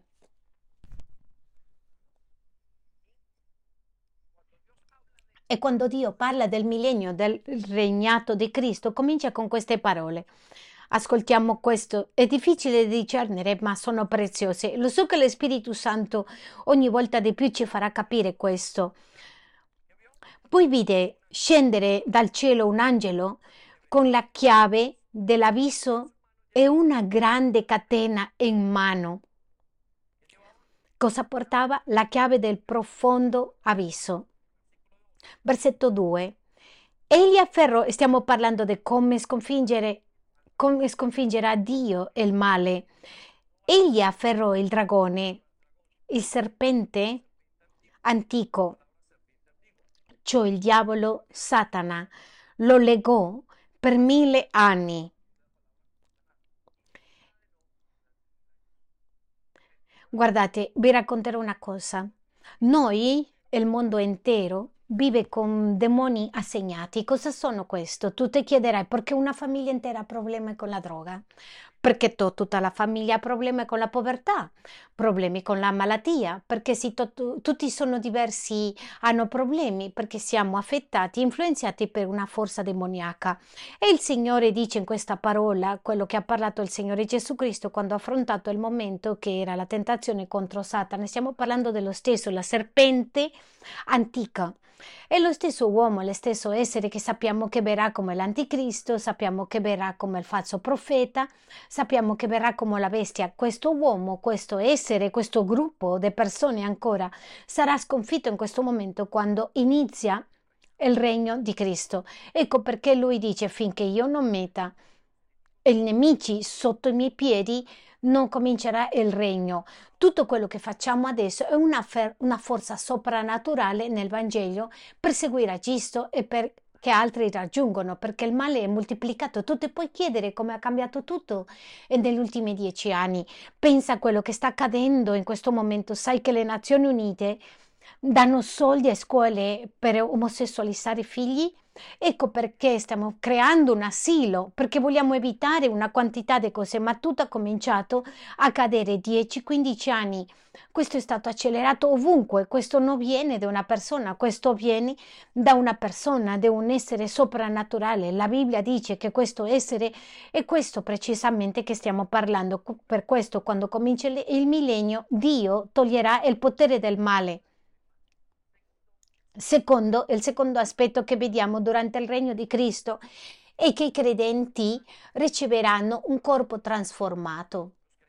E quando Dio parla del millennio, del regnato di Cristo, comincia con queste parole. Ascoltiamo questo, è difficile di discernere, ma sono preziose. Lo so che lo Spirito Santo ogni volta di più ci farà capire questo. Poi vide scendere dal cielo un angelo con la chiave dell'abisso e una grande catena in mano. Cosa portava? La chiave del profondo abisso. Versetto due. Egli afferrò, stiamo parlando di come sconfiggere, come sconfiggerà Dio il male. Egli afferrò il dragone, il serpente antico, cioè il diavolo Satana, lo legò per mille anni. Guardate, vi racconterò una cosa. Noi, il mondo intero, vive con demoni assegnati. Cosa sono questo? Tu ti chiederai perché una famiglia intera ha problemi con la droga? Perché to- tutta la famiglia ha problemi con la povertà, problemi con la malattia, perché si to- tu- tutti sono diversi, hanno problemi perché siamo affettati, influenzati per una forza demoniaca. E il Signore dice in questa parola quello che ha parlato il Signore Gesù Cristo quando ha affrontato il momento che era la tentazione contro Satana. Stiamo parlando dello stesso, la serpente antica. È lo stesso uomo, lo stesso essere che sappiamo che verrà come l'anticristo, sappiamo che verrà come il falso profeta, sappiamo che verrà come la bestia. Questo uomo, questo essere, questo gruppo di persone ancora sarà sconfitto in questo momento quando inizia il regno di Cristo. Ecco perché lui dice finché io non metta i nemici sotto i miei piedi non comincerà il regno. Tutto quello che facciamo adesso è una, fer- una forza soprannaturale nel Vangelo per seguire a Cristo e per che altri raggiungono, perché il male è moltiplicato. Tu ti puoi chiedere come ha cambiato tutto negli ultimi dieci anni. Pensa a quello che sta accadendo in questo momento. Sai che le Nazioni Unite danno soldi a scuole per omosessualizzare i figli. Ecco perché stiamo creando un asilo, perché vogliamo evitare una quantità di cose, ma tutto ha cominciato a cadere dieci quindici anni. Questo è stato accelerato ovunque, questo non viene da una persona, questo viene da una persona, da un essere soprannaturale. La Bibbia dice che questo essere è questo precisamente che stiamo parlando. Per questo, quando comincia il il millennio, Dio toglierà il potere del male. Secondo, il secondo aspetto che vediamo durante il regno di Cristo è che i credenti riceveranno un corpo trasformato.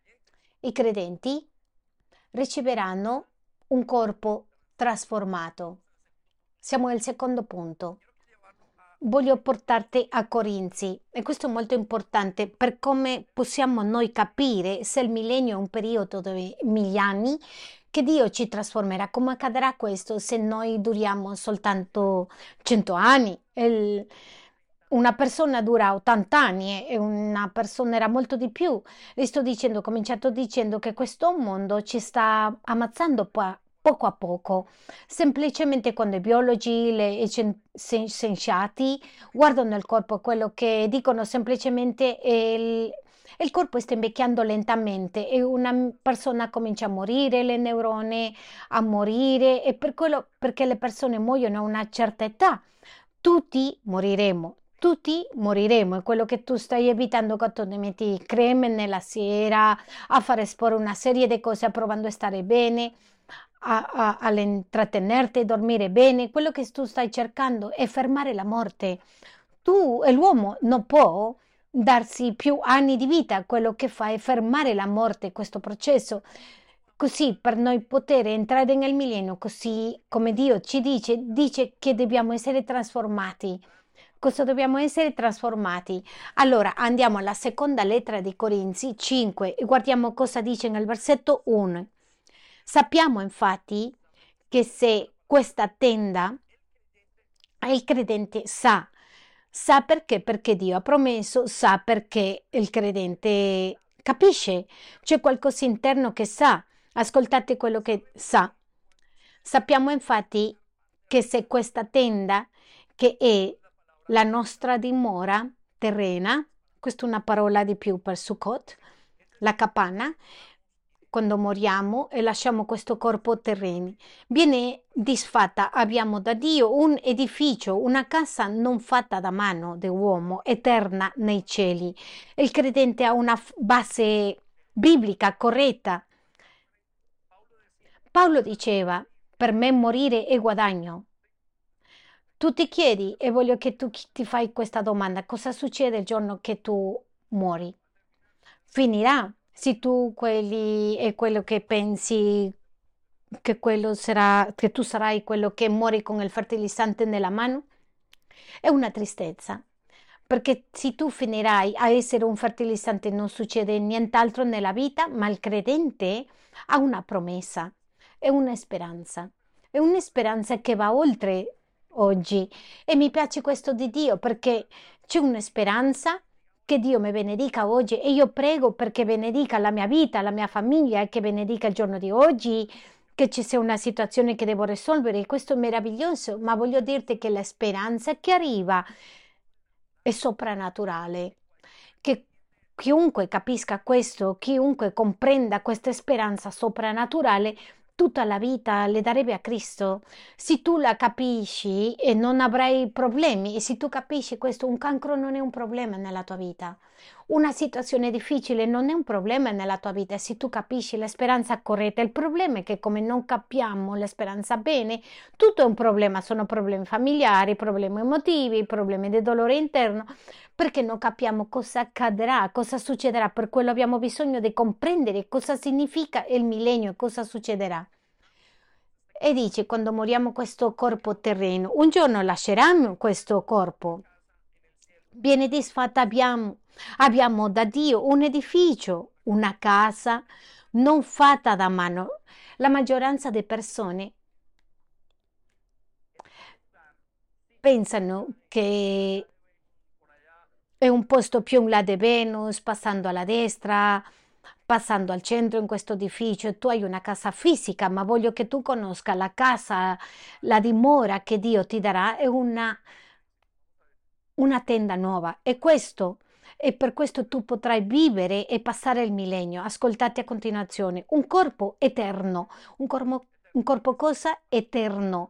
I credenti riceveranno un corpo trasformato. Siamo al secondo punto. Voglio portarti a Corinzi e questo è molto importante per come possiamo noi capire se il millennio è un periodo di mille anni che Dio ci trasformerà. Come accadrà questo se noi duriamo soltanto cento anni? Il- una persona dura ottanta anni e una persona era molto di più. Le sto dicendo, ho cominciato dicendo che questo mondo ci sta ammazzando po- poco a poco. Semplicemente quando i biologi, le i scien- scien- scienziati guardano il corpo, quello che dicono semplicemente è il, il corpo sta invecchiando lentamente e una m- persona comincia a morire, le neuroni a morire e per quello perché le persone muoiono a una certa età. Tutti moriremo. Tutti moriremo, è quello che tu stai evitando quando ti metti creme nella sera, a fare esporre una serie di cose, provando a stare bene, a, a, all'intrattenerti, dormire bene. Quello che tu stai cercando è fermare la morte. Tu e l'uomo non può darsi più anni di vita, quello che fa è fermare la morte, questo processo. Così per noi poter entrare nel millennio, così come Dio ci dice, dice che dobbiamo essere trasformati. Cosa dobbiamo essere trasformati? Allora andiamo alla seconda lettera di Corinzi cinque e guardiamo cosa dice nel versetto uno. Sappiamo infatti che se questa tenda il credente sa, sa perché? Perché Dio ha promesso, sa perché il credente capisce, c'è qualcosa interno che sa. Ascoltate quello che sa. Sappiamo infatti che se questa tenda, che è la nostra dimora terrena, questa è una parola di più per Sukkot, la capanna, quando moriamo e lasciamo questo corpo terreno, viene disfatta, abbiamo da Dio un edificio, una casa non fatta da mano dell'uomo, eterna nei cieli. Il credente ha una f- base biblica corretta. Paolo diceva, per me morire è guadagno. Tu ti chiedi e voglio che tu chi- ti fai questa domanda, cosa succede il giorno che tu muori? Finirà. Se tu quelli è quello che pensi che quello sarà, che tu sarai quello che muori con il fertilizzante nella mano? È una tristezza, perché se tu finirai a essere un fertilizzante non succede nient'altro nella vita, ma il credente ha una promessa, è una speranza, è una speranza che va oltre oggi e mi piace questo di Dio perché c'è una speranza che Dio mi benedica oggi e io prego perché benedica la mia vita, la mia famiglia e che benedica il giorno di oggi, che ci sia una situazione che devo risolvere. Questo è meraviglioso, ma voglio dirti che la speranza che arriva è soprannaturale, che chiunque capisca questo, chiunque comprenda questa speranza soprannaturale, tutta la vita le darebbe a Cristo. Se tu la capisci e non avrai problemi, e se tu capisci questo, un cancro non è un problema nella tua vita. Una situazione difficile non è un problema nella tua vita se tu capisci la speranza corretta. Il problema è che come non capiamo la speranza bene, tutto è un problema, sono problemi familiari, problemi emotivi, problemi di dolore interno, perché non capiamo cosa accadrà, cosa succederà. Per quello abbiamo bisogno di comprendere cosa significa il millennio e cosa succederà. E dice, quando moriamo questo corpo terreno, un giorno lasceranno questo corpo. Viene disfatta, abbiamo, abbiamo da Dio un edificio, una casa non fatta da mano. La maggioranza delle persone pensano che è un posto più in là di Venus, passando alla destra, passando al centro in questo edificio e tu hai una casa fisica, ma voglio che tu conosca la casa, la dimora che Dio ti darà è una, una tenda nuova. E questo, e per questo tu potrai vivere e passare il millennio. Ascoltate a continuazione. Un corpo eterno. Un corpo, un corpo cosa? Eterno.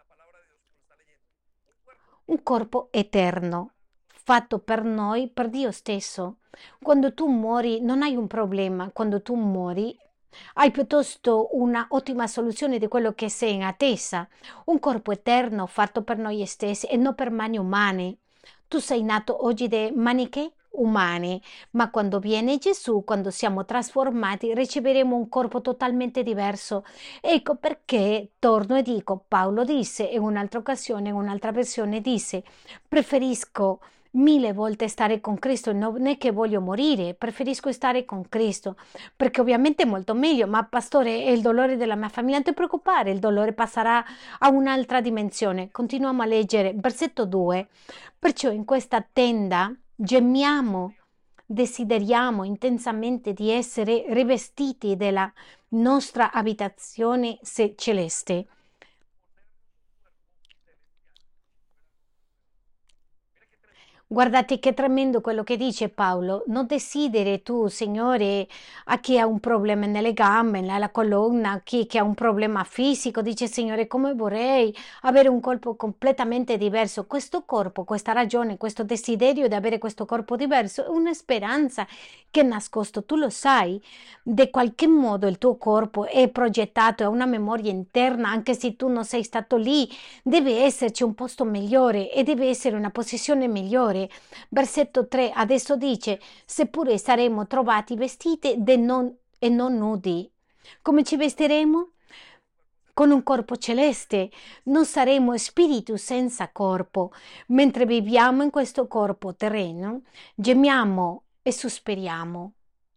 Un corpo eterno, fatto per noi, per Dio stesso. Quando tu muori non hai un problema, quando tu muori hai piuttosto una ottima soluzione di quello che sei in attesa, un corpo eterno fatto per noi stessi e non per mani umane. Tu sei nato oggi da maniche umane, ma quando viene Gesù, quando siamo trasformati, riceveremo un corpo totalmente diverso. Ecco perché torno e dico, Paolo disse in un'altra occasione, in un'altra versione disse, preferisco mille volte stare con Cristo, non è che voglio morire, preferisco stare con Cristo, perché ovviamente è molto meglio, ma pastore, è il dolore della mia famiglia, non ti preoccupare, il dolore passerà a un'altra dimensione. Continuiamo a leggere, versetto due, perciò in questa tenda gemiamo, desideriamo intensamente di essere rivestiti della nostra abitazione celeste. Guardate che tremendo quello che dice Paolo. Non desideri tu, Signore, a chi ha un problema nelle gambe, nella colonna, a chi che ha un problema fisico, dice Signore, come vorrei avere un corpo completamente diverso. Questo corpo, questa ragione, questo desiderio di avere questo corpo diverso è una speranza che è nascosto. Tu lo sai, di qualche modo il tuo corpo è progettato, è una memoria interna, anche se tu non sei stato lì, deve esserci un posto migliore e deve essere una posizione migliore. Versetto tre adesso dice, seppure saremo trovati vestiti de non, e non nudi. Come ci vestiremo? Con un corpo celeste. Non saremo spiriti senza corpo. Mentre viviamo in questo corpo terreno, gemiamo e sospiriamo.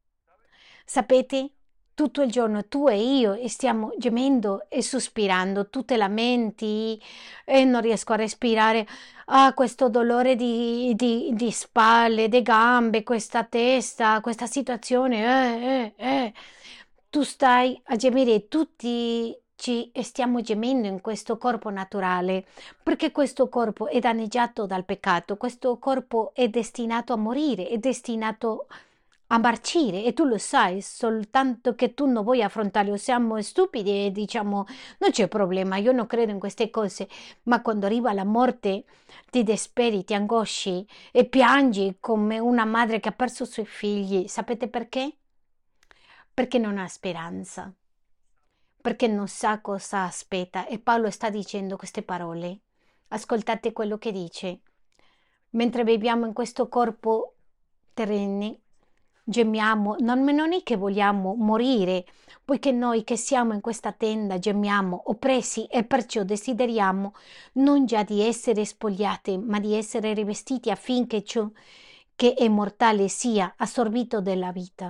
Sapete? Tutto il giorno tu e io e stiamo gemendo e sospirando, tu te lamenti e non riesco a respirare, ah, questo dolore di, di, di spalle, di gambe, questa testa, questa situazione, eh, eh, eh. Tu stai a gemere, tutti ci stiamo gemendo in questo corpo naturale, perché questo corpo è danneggiato dal peccato, questo corpo è destinato a morire, è destinato a marcire e tu lo sai, soltanto che tu non vuoi affrontarlo. Siamo stupidi e diciamo non c'è problema, io non credo in queste cose, ma quando arriva la morte ti disperi, ti angosci e piangi come una madre che ha perso i suoi figli. Sapete perché? Perché non ha speranza, perché non sa cosa aspetta e Paolo sta dicendo queste parole. Ascoltate quello che dice. Mentre viviamo in questo corpo terreno, gemiamo, non, non è che vogliamo morire, poiché noi che siamo in questa tenda gemiamo, oppressi e perciò desideriamo non già di essere spogliati, ma di essere rivestiti affinché ciò che è mortale sia assorbito della vita.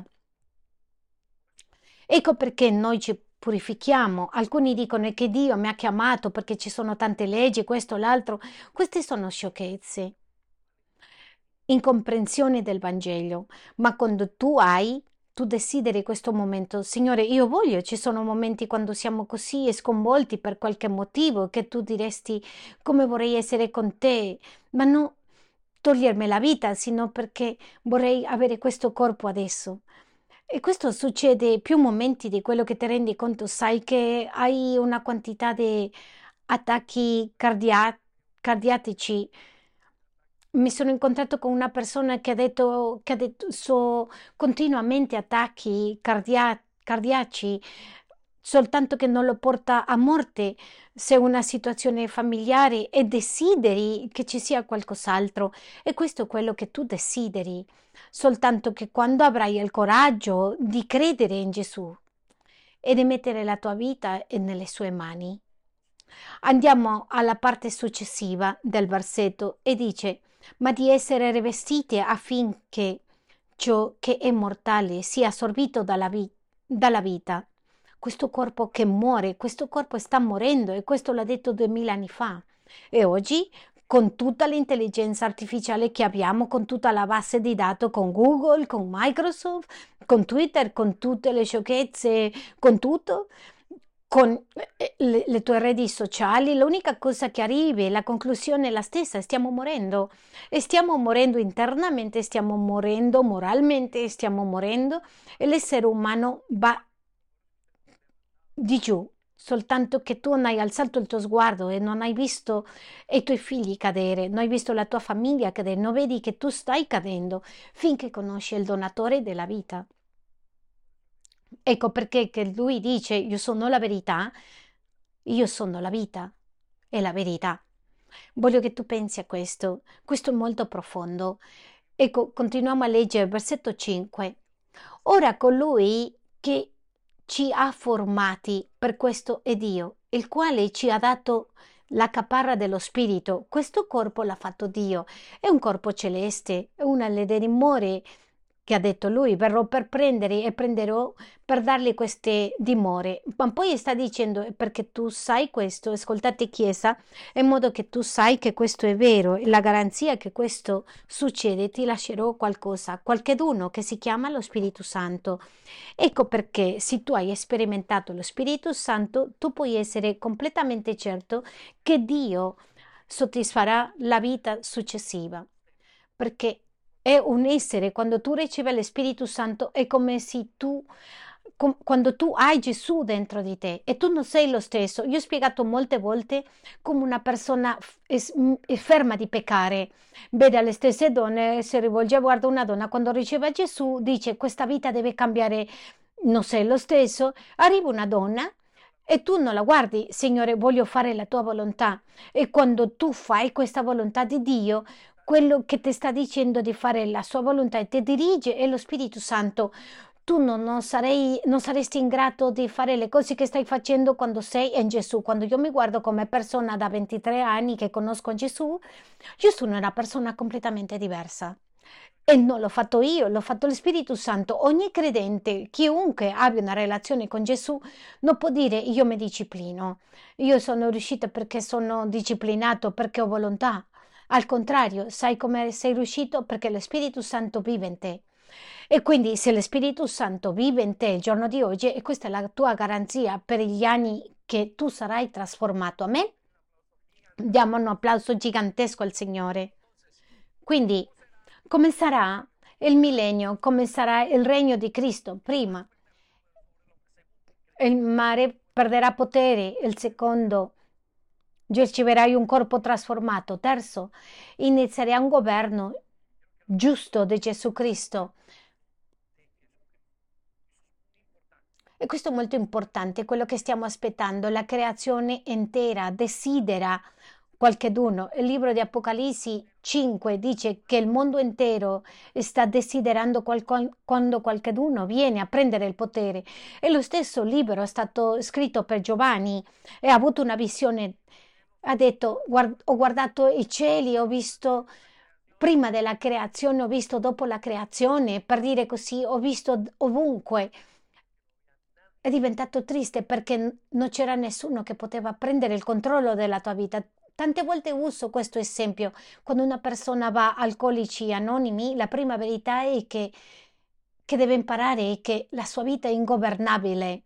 Ecco perché noi ci purifichiamo. Alcuni dicono che Dio mi ha chiamato perché ci sono tante leggi, questo, l'altro. Queste sono sciocchezze, incomprensione del Vangelo. Ma quando tu hai, tu desideri questo momento, Signore, io voglio, ci sono momenti quando siamo così sconvolti per qualche motivo che tu diresti come vorrei essere con te, ma non togliermi la vita, sino perché vorrei avere questo corpo adesso. E questo succede più momenti di quello che ti rendi conto, sai che hai una quantità di attacchi cardia- cardiaci. Mi sono incontrato con una persona che ha detto che ha detto so continuamente attacchi cardia- cardiaci, soltanto che non lo porta a morte se è una situazione familiare e desideri che ci sia qualcos'altro. E questo è quello che tu desideri, soltanto che quando avrai il coraggio di credere in Gesù e di mettere la tua vita nelle sue mani. Andiamo alla parte successiva del versetto e dice, ma di essere rivestiti affinché ciò che è mortale sia assorbito dalla, vi- dalla vita. Questo corpo che muore, questo corpo sta morendo e questo l'ha detto duemila anni fa. E oggi con tutta l'intelligenza artificiale che abbiamo, con tutta la base di dati, con Google, con Microsoft, con Twitter, con tutte le sciocchezze, con tutto, con eh, le, le tue reti sociali, l'unica cosa che arrivi, la conclusione è la stessa, stiamo morendo. E stiamo morendo internamente, stiamo morendo moralmente, stiamo morendo e l'essere umano va di giù, soltanto che tu non hai alzato il tuo sguardo e non hai visto i tuoi figli cadere, non hai visto la tua famiglia cadere, non vedi che tu stai cadendo finché conosci il donatore della vita. Ecco perché che lui dice io sono la verità, io sono la vita e la verità. Voglio che tu pensi a questo, questo è molto profondo. Ecco, continuiamo a leggere versetto cinque. Ora colui che ci ha formati per questo è Dio, il quale ci ha dato la caparra dello Spirito. Questo corpo l'ha fatto Dio, è un corpo celeste, è una delle dimore che ha detto lui, verrò per prendere e prenderò per dargli queste dimore. Ma poi sta dicendo, perché tu sai questo, ascoltate Chiesa, in modo che tu sai che questo è vero, e la garanzia che questo succede, ti lascerò qualcosa, qualcheduno che si chiama lo Spirito Santo. Ecco perché se tu hai sperimentato lo Spirito Santo, tu puoi essere completamente certo che Dio soddisfarà la vita successiva, perché è un essere, quando tu ricevi lo Spirito Santo, è come se tu, com- quando tu hai Gesù dentro di te e tu non sei lo stesso. Io ho spiegato molte volte come una persona f- è, s- m- è ferma di peccare, vede le stesse donne, si rivolge, guarda una donna, quando riceve Gesù dice questa vita deve cambiare, non sei lo stesso, arriva una donna. E tu non la guardi, Signore, voglio fare la tua volontà. E quando tu fai questa volontà di Dio, quello che ti sta dicendo di fare la sua volontà e ti dirige è lo Spirito Santo. Tu non, non sarei, non saresti in grado di fare le cose che stai facendo quando sei in Gesù. Quando io mi guardo come persona da ventitré anni che conosco Gesù, io sono una persona completamente diversa. E non l'ho fatto io, l'ho fatto lo Spirito Santo. Ogni credente, chiunque abbia una relazione con Gesù, non può dire io mi disciplino, io sono riuscito perché sono disciplinato, perché ho volontà. Al contrario, sai come sei riuscito? Perché lo Spirito Santo vive in te. E quindi se lo Spirito Santo vive in te il giorno di oggi, e questa è la tua garanzia per gli anni che tu sarai trasformato. A me diamo un applauso gigantesco al Signore. Quindi, come sarà il millennio? Come sarà il regno di Cristo? Prima, il mare perderà potere. Il secondo, riceverai un corpo trasformato. Terzo, inizierà un governo giusto di Gesù Cristo. E questo è molto importante, quello che stiamo aspettando. La creazione intera desidera qualcheduno. Il libro di Apocalisse cinque dice che il mondo intero sta desiderando qualco- quando qualcheduno viene a prendere il potere. E lo stesso libro è stato scritto per Giovanni e ha avuto una visione. Ha detto, "Guard- ho guardato i cieli, ho visto prima della creazione, ho visto dopo la creazione, per dire così, ho visto ovunque. È diventato triste perché n- non c'era nessuno che poteva prendere il controllo della tua vita. Tante volte uso questo esempio. Quando una persona va a Alcolici Anonimi, la prima verità è che, che deve imparare è che la sua vita è ingovernabile.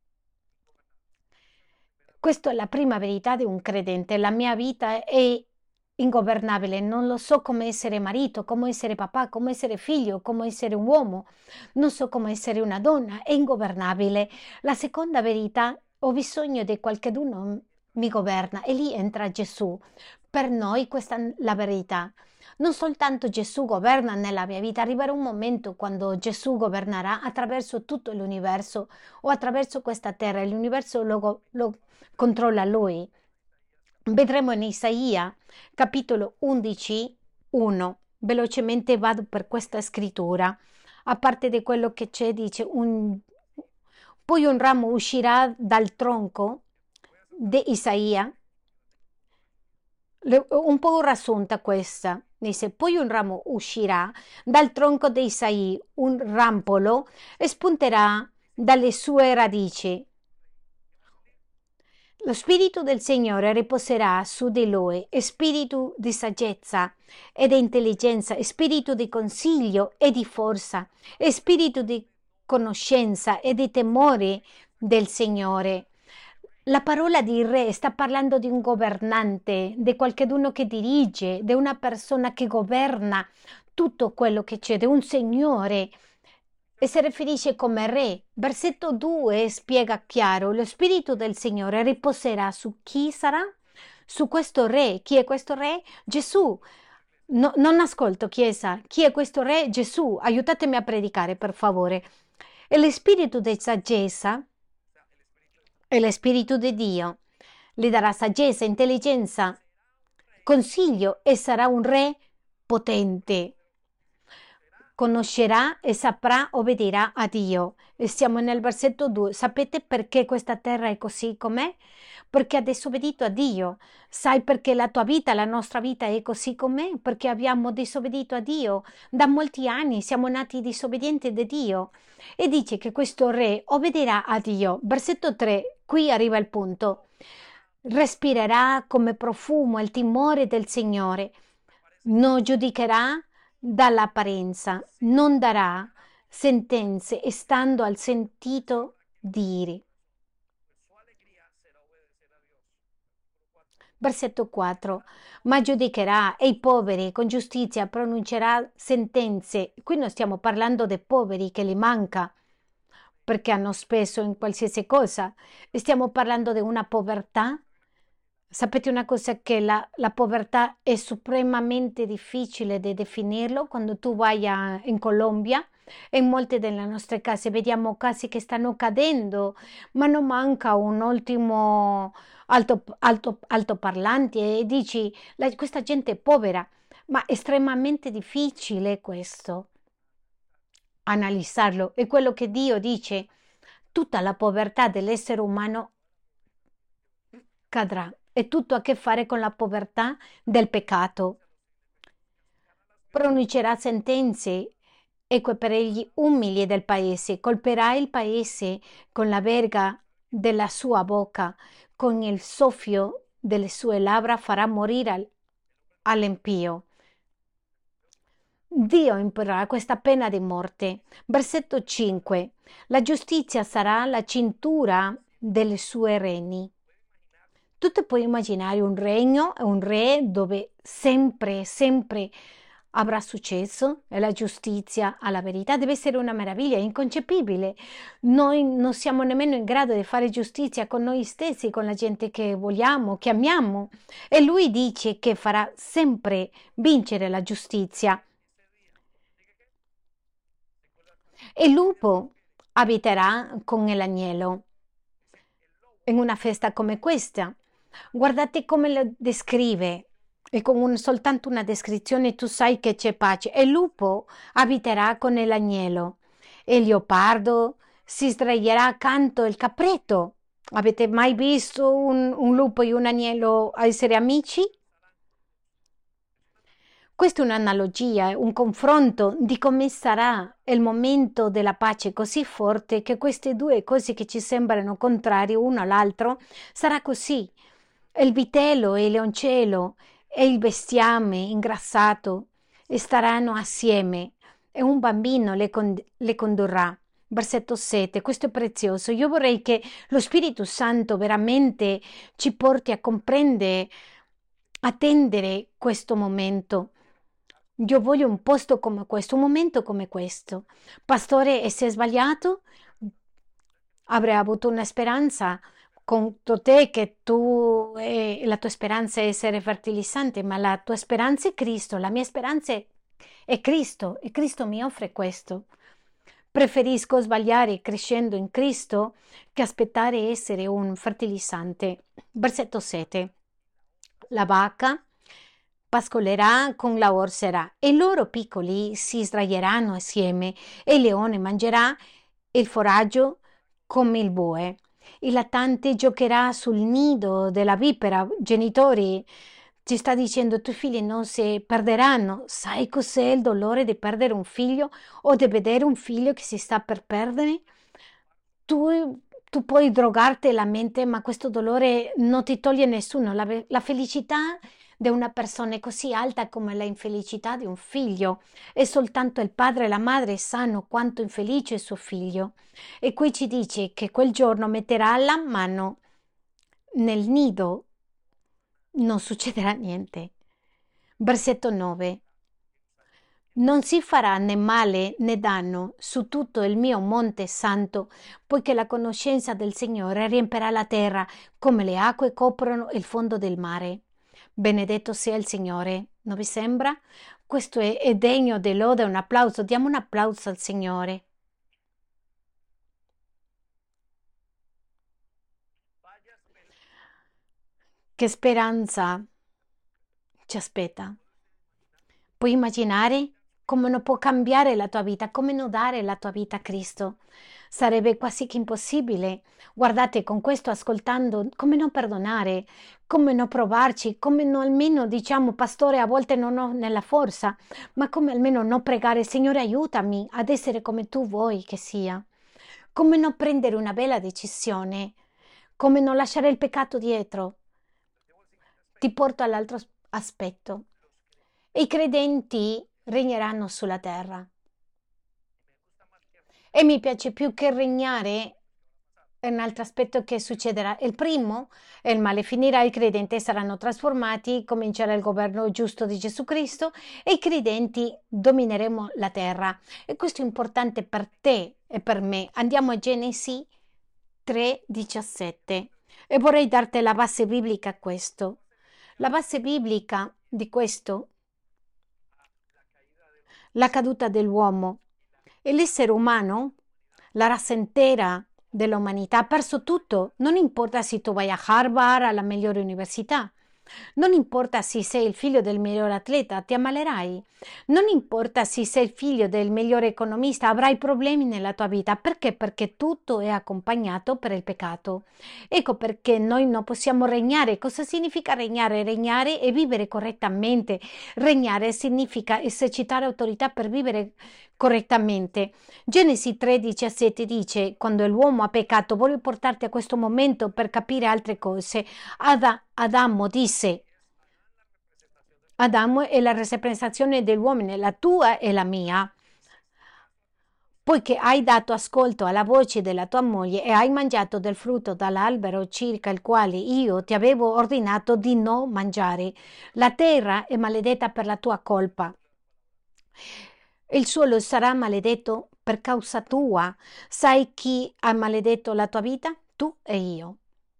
Questa è la prima verità di un credente. La mia vita è ingovernabile. Non lo so come essere marito, come essere papà, come essere figlio, come essere un uomo. Non so come essere una donna. È ingovernabile. La seconda verità, ho bisogno di qualcuno mi governa e lì entra Gesù. Per noi questa è la verità. Non soltanto Gesù governa nella mia vita, arriverà un momento quando Gesù governerà attraverso tutto l'universo o attraverso questa terra. L'universo lo, go- lo controlla lui. Vedremo in Isaia, capitolo undici, uno. Velocemente vado per questa scrittura. A parte di quello che c'è, dice, un, poi un ramo uscirà dal tronco di Isaia. Le- un po' riassunta questa. Dice, poi un ramo uscirà dal tronco di Isaia, un rampolo, e spunterà dalle sue radici. Lo Spirito del Signore riposerà su di lui, spirito di saggezza e di intelligenza, spirito di consiglio e di forza, spirito di conoscenza e di temore del Signore. La parola di re sta parlando di un governante, di qualcuno che dirige, di una persona che governa tutto quello che c'è, di un signore e si riferisce come re. Versetto due spiega chiaro: lo spirito del Signore riposerà su chi sarà? Su questo re. Chi è questo re? Gesù. No, non ascolto, Chiesa. Chi è questo re? Gesù. Aiutatemi a predicare, per favore. E lo spirito di saggezza è lo spirito di Dio. Le darà saggezza, intelligenza, consiglio e sarà un re potente. Conoscerà e saprà, obbederà a Dio. E siamo nel versetto due. Sapete perché questa terra è così com'è? Perché ha disobbedito a Dio. Sai perché la tua vita, la nostra vita è così com'è? Perché abbiamo disobbedito a Dio. Da molti anni siamo nati disobbedienti di Dio. E dice che questo re obbederà a Dio. Versetto tre, qui arriva il punto. Respirerà come profumo il timore del Signore. Non giudicherà dall'apparenza, non darà sentenze stando al sentito dire. Versetto quattro. Ma giudicherà e i poveri con giustizia pronuncerà sentenze. Qui non stiamo parlando dei poveri che li manca perché hanno speso in qualsiasi cosa. Stiamo parlando di una povertà. Sapete una cosa, che la, la povertà è supremamente difficile di definirlo quando tu vai a- in Colombia e in molte delle nostre case vediamo case che stanno cadendo, ma non manca un ultimo alto, alto, altoparlante e dici "La- questa gente è povera", ma è estremamente difficile questo, analizzarlo. È quello che Dio dice, tutta la povertà dell'essere umano cadrà. È tutto a che fare con la povertà del peccato. Pronuncerà sentenze eque per gli umili del paese, colperà il paese con la verga della sua bocca, con il soffio delle sue labbra farà morire al- all'impio. Dio imporrà questa pena di morte. Versetto cinque. La giustizia sarà la cintura delle sue reni. Tu ti puoi immaginare un regno, un re dove sempre, sempre avrà successo e la giustizia alla verità deve essere una meraviglia, è inconcepibile. Noi non siamo nemmeno in grado di fare giustizia con noi stessi, con la gente che vogliamo, che amiamo. E lui dice che farà sempre vincere la giustizia. E il lupo abiterà con l'agnello in una festa come questa. Guardate come lo descrive, e con un- soltanto una descrizione tu sai che c'è pace. E il lupo abiterà con l'agnello, e il leopardo si sdraierà accanto al capretto. Avete mai visto un, un lupo e un agnello essere amici? Questa è un'analogia, un confronto di come sarà il momento della pace così forte che queste due cose che ci sembrano contrarie uno all'altro sarà così. Il vitello e il leoncello e il bestiame ingrassato staranno assieme e un bambino le, con- le condurrà. Versetto sette, questo è prezioso. Io vorrei che lo Spirito Santo veramente ci porti a comprendere, a attendere questo momento. Io voglio un posto come questo, un momento come questo. Pastore, e se è sbagliato, avrei avuto una speranza contro te che tu, eh, la tua speranza è essere fertilizzante, ma la tua speranza è Cristo, la mia speranza è, è Cristo e Cristo mi offre questo. Preferisco sbagliare crescendo in Cristo che aspettare essere un fertilizzante. Versetto sette. La vacca pascolerà con la orsera e i loro piccoli si sdraieranno assieme e il leone mangerà il foraggio come il bue. Il lattante giocherà sul nido della vipera. Genitori, ci sta dicendo i tuoi figli non si perderanno. Sai cos'è il dolore di perdere un figlio o di vedere un figlio che si sta per perdere? Tu tu puoi drogarti la mente, ma questo dolore non ti toglie nessuno. La, ve- la felicità di una persona è così alta come la infelicità di un figlio. E soltanto il padre e la madre sanno quanto infelice è suo figlio. E qui ci dice che quel giorno metterà la mano nel nido, non succederà niente. Versetto nove. Non si farà né male né danno su tutto il mio monte santo, poiché la conoscenza del Signore riempirà la terra come le acque coprono il fondo del mare. Benedetto sia il Signore. Non vi sembra? Questo è, è degno di lode, un applauso. Diamo un applauso al Signore. Che speranza ci aspetta. Puoi immaginare come non può cambiare la tua vita, come non dare la tua vita a Cristo? Sarebbe quasi che impossibile. Guardate, con questo ascoltando, come non perdonare, come non provarci, come non almeno diciamo, pastore, a volte non ho nella forza, ma come almeno non pregare, Signore, aiutami ad essere come tu vuoi che sia. Come non prendere una bella decisione, come non lasciare il peccato dietro. Ti porto all'altro as- aspetto. I credenti regneranno sulla terra. E mi piace più che regnare è un altro aspetto che succederà. Il primo, il male finirà, i credenti saranno trasformati, comincerà il governo giusto di Gesù Cristo e i credenti domineremo la terra. E questo è importante per te e per me. Andiamo a Genesi tre diciassette e vorrei darti la base biblica a questo. La base biblica di questo, la caduta dell'uomo e l'essere umano, la razza intera dell'umanità ha perso tutto. Non importa se tu vai a Harvard, alla migliore università. Non importa se sei il figlio del migliore atleta, ti ammalerai. Non importa se sei il figlio del migliore economista, avrai problemi nella tua vita. Perché? Perché tutto è accompagnato per il peccato. Ecco perché noi non possiamo regnare. Cosa significa regnare? Regnare è vivere correttamente. Regnare significa esercitare autorità per vivere correttamente. Genesi tre diciassette dice: quando l'uomo ha peccato, voglio portarti a questo momento per capire altre cose. Ada- Adamo disse: Adamo è la rappresentazione dell'uomo, la tua e la mia. Poiché hai dato ascolto alla voce della tua moglie e hai mangiato del frutto dall'albero circa il quale io ti avevo ordinato di non mangiare, la terra è maledetta per la tua colpa. Il suolo sarà maledetto per causa tua. Sai chi ha maledetto la tua vita? Tu e io.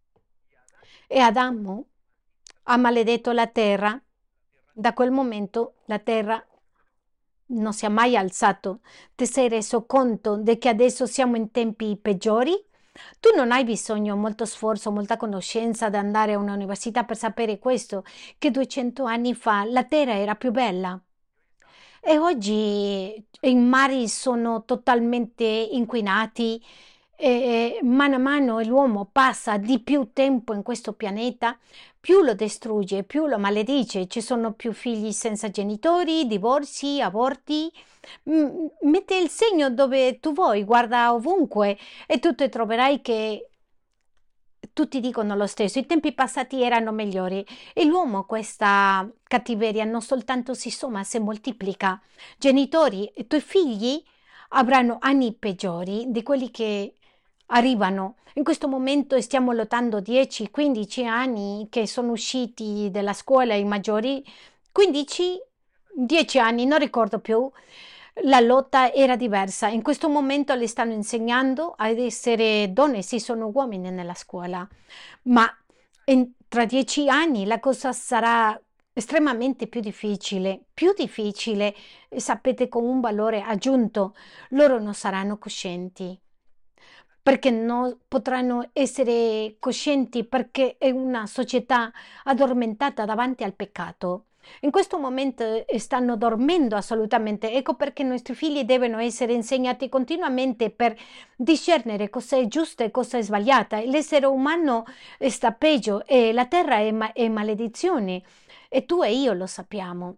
E Adamo ha maledetto la terra. Da quel momento la terra non si è mai alzato. Ti sei reso conto di che adesso siamo in tempi peggiori? Tu non hai bisogno molto sforzo, molta conoscenza di andare a un'università per sapere questo, che duecento anni fa la terra era più bella. E oggi i mari sono totalmente inquinati e mano a mano l'uomo passa di più tempo in questo pianeta, più lo distrugge, più lo maledice. Ci sono più figli senza genitori, divorzi, aborti. Mm, Mette il segno dove tu vuoi, guarda ovunque e tu ti troverai che tutti dicono lo stesso, i tempi passati erano migliori e l'uomo questa cattiveria non soltanto si somma, si moltiplica. Genitori, i tuoi figli avranno anni peggiori di quelli che arrivano. In questo momento stiamo lottando dieci quindici anni che sono usciti dalla scuola i maggiori, quindici dieci anni, non ricordo più. La lotta era diversa. In questo momento le stanno insegnando ad essere donne, sì, sono uomini nella scuola, ma in- tra dieci anni la cosa sarà estremamente più difficile, più difficile, e sapete, con un valore aggiunto. Loro non saranno coscienti perché non potranno essere coscienti perché è una società addormentata davanti al peccato. In questo momento eh, stanno dormendo assolutamente. Ecco perché i nostri figli devono essere insegnati continuamente per discernere cosa è giusto e cosa è sbagliata. L'essere umano sta peggio e la terra è, ma- è maledizione e tu e io lo sappiamo.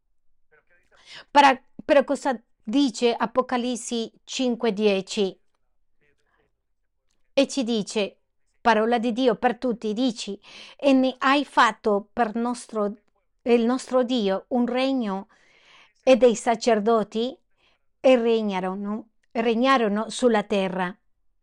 Però, però cosa dice Apocalisse cinque dieci? e ci dice, parola di Dio per tutti, dici, e ne hai fatto per nostro, il nostro Dio un regno e dei sacerdoti e regnarono, regnarono sulla terra.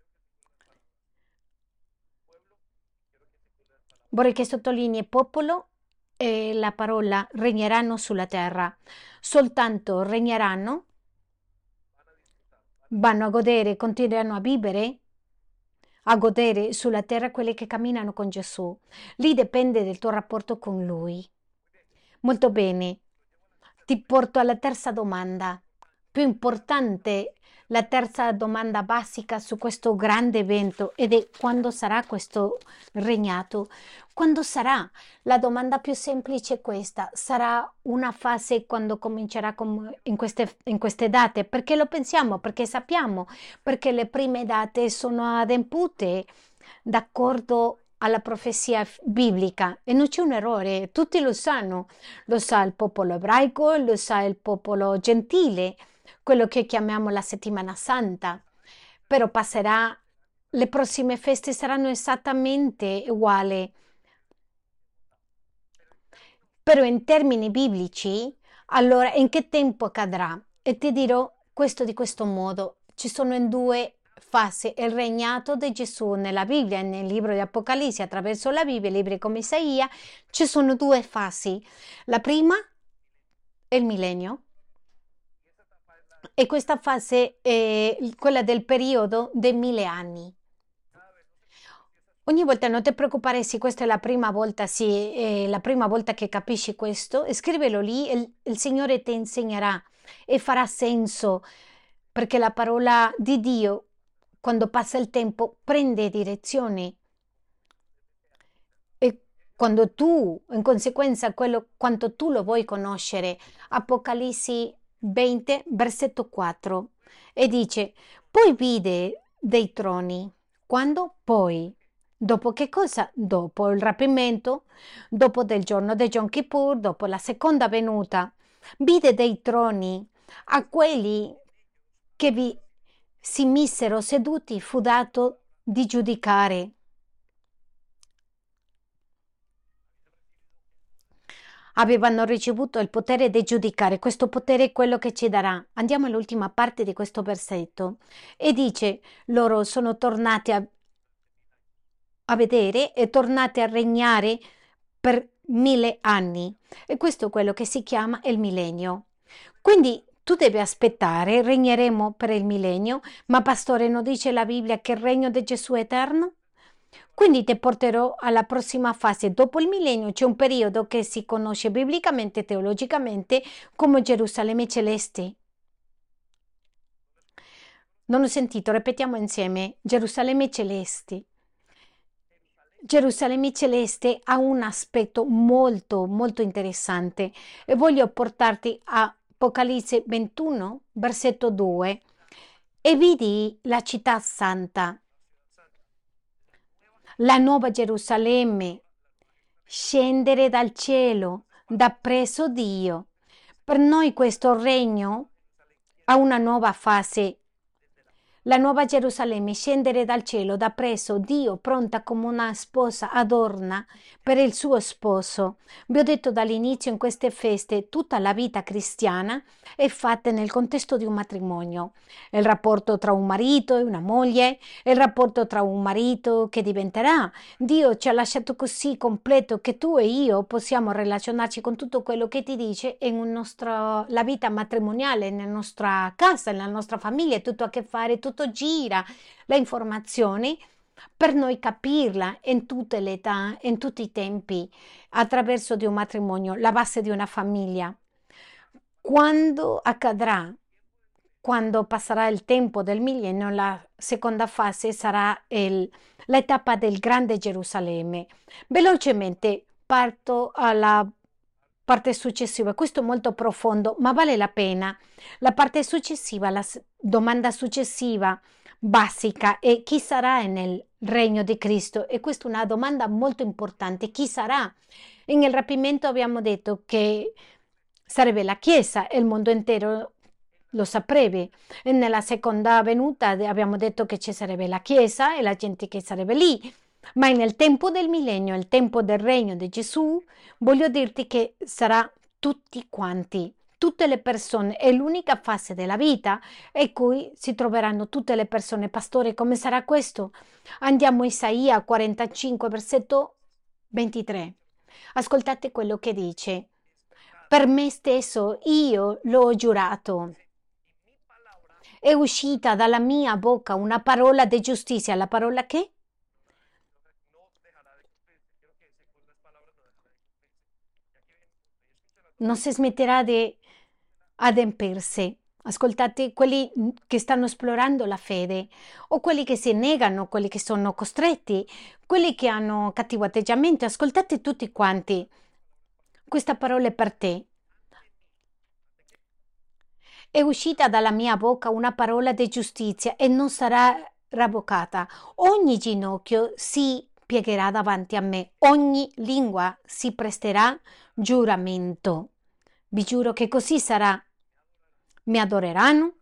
Vorrei che sottolinei popolo e la parola regneranno sulla terra. Soltanto regneranno, vanno a godere, continueranno a vivere, a godere sulla terra quelli che camminano con Gesù. Lì dipende del tuo rapporto con Lui. Molto bene. Ti porto alla terza domanda, più importante, la terza domanda basica su questo grande evento ed è quando sarà questo regnato? Quando sarà? La domanda più semplice è questa: sarà una fase quando comincerà com- in queste, in queste date? Perché lo pensiamo? Perché sappiamo? Perché le prime date sono adempute d'accordo alla profezia f- biblica e non c'è un errore, tutti lo sanno, lo sa il popolo ebraico, lo sa il popolo gentile, quello che chiamiamo la settimana santa, però passerà, le prossime feste saranno esattamente uguali, però in termini biblici, allora in che tempo accadrà? E ti dirò questo di questo modo, ci sono in due fasi il regnato di Gesù nella Bibbia, nel libro di Apocalisse, attraverso la Bibbia, libri come Isaia, ci sono due fasi. La prima è il millennio e questa fase è quella del periodo dei mille anni. Ogni volta non ti preoccupare se questa è la prima volta, sì, è la prima volta che capisci questo, scrivelo lì e il, il Signore ti insegnerà e farà senso perché la parola di Dio, quando passa il tempo, prende direzione e quando tu, in conseguenza, quello, quanto tu lo vuoi conoscere, Apocalisse venti, versetto quattro, e dice, poi vide dei troni. Quando? Poi. Dopo che cosa? Dopo il rapimento, dopo del giorno di Yom Kippur, dopo la seconda venuta. Vide dei troni a quelli che vi si misero seduti, fu dato di giudicare. Avevano ricevuto il potere di giudicare, questo potere è quello che ci darà. Andiamo all'ultima parte di questo versetto e dice, loro sono tornati a, a vedere e tornati a regnare per mille anni e questo è quello che si chiama il millennio. Quindi tu devi aspettare, regneremo per il millennio, ma pastore non dice la Bibbia che il regno di Gesù è eterno? Quindi ti porterò alla prossima fase. Dopo il millennio c'è un periodo che si conosce biblicamente e teologicamente come Gerusalemme celeste. Non ho sentito, ripetiamo insieme. Gerusalemme celeste. Gerusalemme celeste ha un aspetto molto, molto interessante e voglio portarti a Apocalisse ventuno, versetto due. E vidi la città santa, la nuova Gerusalemme, scendere dal cielo, da presso Dio. Per noi questo regno ha una nuova fase. La nuova Gerusalemme scendere dal cielo da presso Dio, pronta come una sposa adorna per il suo sposo. Vi ho detto dall'inizio in queste feste tutta la vita cristiana è fatta nel contesto di un matrimonio. Il rapporto tra un marito e una moglie, il rapporto tra un marito che diventerà. Dio ci ha lasciato così completo che tu e io possiamo relazionarci con tutto quello che ti dice in un nostro, la vita matrimoniale, nella nostra casa, nella nostra famiglia, tutto a che fare, tutto gira, le informazioni per noi capirla in tutte le età, in tutti i tempi, attraverso di un matrimonio, la base di una famiglia. Quando accadrà? Quando passerà il tempo del millennio, la seconda fase sarà il- l'etapa del Grande Gerusalemme. Velocemente parto alla parte successiva. Questo è molto profondo, ma vale la pena. La parte successiva, la s- domanda successiva, basica, è chi sarà nel regno di Cristo? E questa è una domanda molto importante. Chi sarà? In il rapimento abbiamo detto che sarebbe la Chiesa e il mondo intero lo saprete. E nella seconda venuta de- abbiamo detto che ci sarebbe la Chiesa e la gente che sarebbe lì. Ma nel tempo del millennio, il tempo del regno di Gesù, voglio dirti che sarà tutti quanti, tutte le persone. È l'unica fase della vita in cui si troveranno tutte le persone. Pastore, come sarà questo? Andiamo a Isaia quarantacinque, versetto ventitré. Ascoltate quello che dice. Per me stesso io l'ho giurato. È uscita dalla mia bocca una parola di giustizia. La parola che? Non si smetterà di adempirsi. Ascoltate quelli che stanno esplorando la fede o quelli che si negano, quelli che sono costretti, quelli che hanno cattivo atteggiamento. Ascoltate tutti quanti. Questa parola è per te. È uscita dalla mia bocca una parola di giustizia e non sarà ravocata. Ogni ginocchio si piegherà davanti a me, ogni lingua si presterà giuramento. Vi giuro che così sarà. Mi adoreranno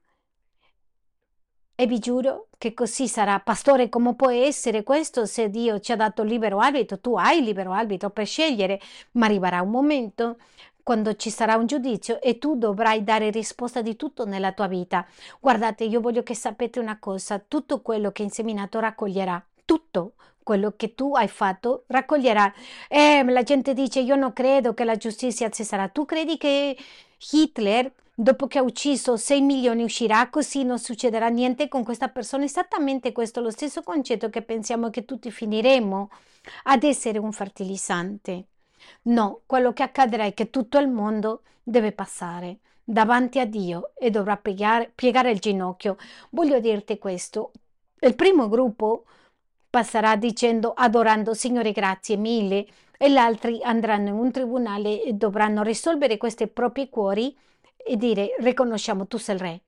e vi giuro che così sarà. Pastore, come può essere questo se Dio ci ha dato libero arbitro? Tu hai libero arbitro per scegliere, ma arriverà un momento quando ci sarà un giudizio e tu dovrai dare risposta di tutto nella tua vita. Guardate, io voglio che sapete una cosa, tutto quello che hai inseminato raccoglierà, tutto quello che tu hai fatto raccoglierà. Eh, la gente dice, io non credo che la giustizia ci sarà. Tu credi che Hitler, dopo che ha ucciso sei milioni, uscirà così, non succederà niente con questa persona? Esattamente questo, lo stesso concetto che pensiamo che tutti finiremo ad essere un fertilizzante. No, quello che accadrà è che tutto il mondo deve passare davanti a Dio e dovrà piegare, piegare il ginocchio. Voglio dirti questo. Il primo gruppo passerà dicendo, adorando, Signore, grazie mille, e gli altri andranno in un tribunale e dovranno risolvere questi propri cuori e dire, riconosciamo tu sei il re.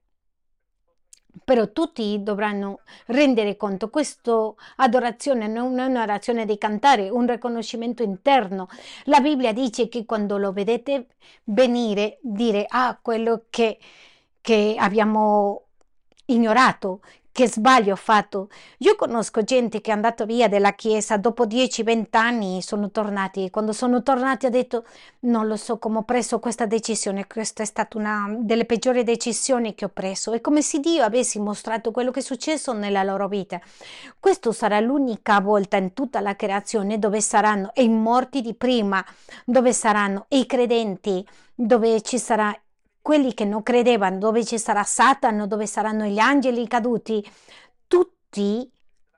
Però tutti dovranno rendere conto, questa adorazione non è un'adorazione di cantare, è un riconoscimento interno. La Bibbia dice che quando lo vedete venire, dire, ah, quello che, che abbiamo ignorato, che sbaglio ho fatto. Io conosco gente che è andata via dalla Chiesa, dopo dieci venti anni sono tornati, e quando sono tornati ha detto, non lo so come ho preso questa decisione, questa è stata una delle peggiori decisioni che ho preso. È come se Dio avesse mostrato quello che è successo nella loro vita. Questa sarà l'unica volta in tutta la creazione dove saranno i morti di prima, dove saranno i credenti, dove ci sarà quelli che non credevano, dove ci sarà Satana, dove saranno gli angeli caduti. Tutti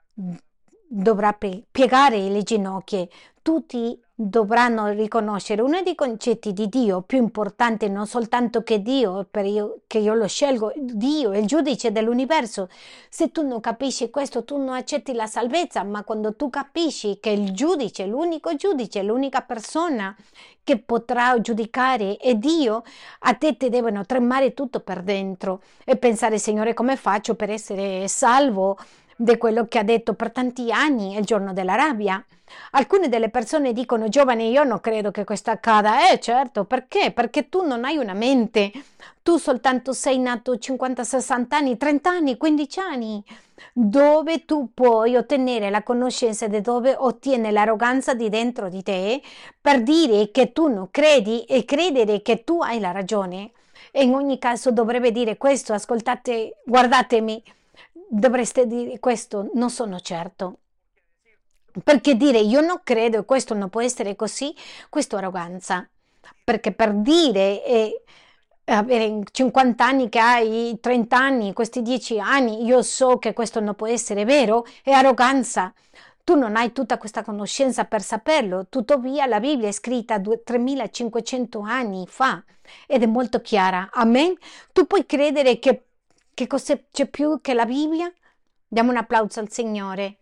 dovrà piegare le ginocchia, tutti dovranno riconoscere uno dei concetti di Dio più importanti, non soltanto che Dio, per io, che io lo scelgo, Dio è il giudice dell'universo. Se tu non capisci questo, tu non accetti la salvezza, ma quando tu capisci che il giudice, l'unico giudice, l'unica persona che potrà giudicare è Dio, a te ti devono tremare tutto per dentro e pensare, Signore, come faccio per essere salvo di quello che ha detto per tanti anni, il giorno della rabbia? Alcune delle persone dicono, giovane, io non credo che questo accada. Eh, certo, perché? Perché tu non hai una mente. Tu soltanto sei nato cinquanta, sessanta anni, trenta anni, quindici anni, dove tu puoi ottenere la conoscenza di dove ottiene l'arroganza di dentro di te per dire che tu non credi e credere che tu hai la ragione. E in ogni caso dovrebbe dire questo, ascoltate, guardatemi, dovreste dire questo, non sono certo. Perché dire io non credo e questo non può essere così, questo è arroganza. Perché per dire e avere cinquanta anni che hai trenta anni, questi dieci anni, io so che questo non può essere vero, è arroganza. Tu non hai tutta questa conoscenza per saperlo, tuttavia la Bibbia è scritta tremilacinquecento anni fa ed è molto chiara. Amen? Tu puoi credere che, che c'è più che la Bibbia? Diamo un applauso al Signore.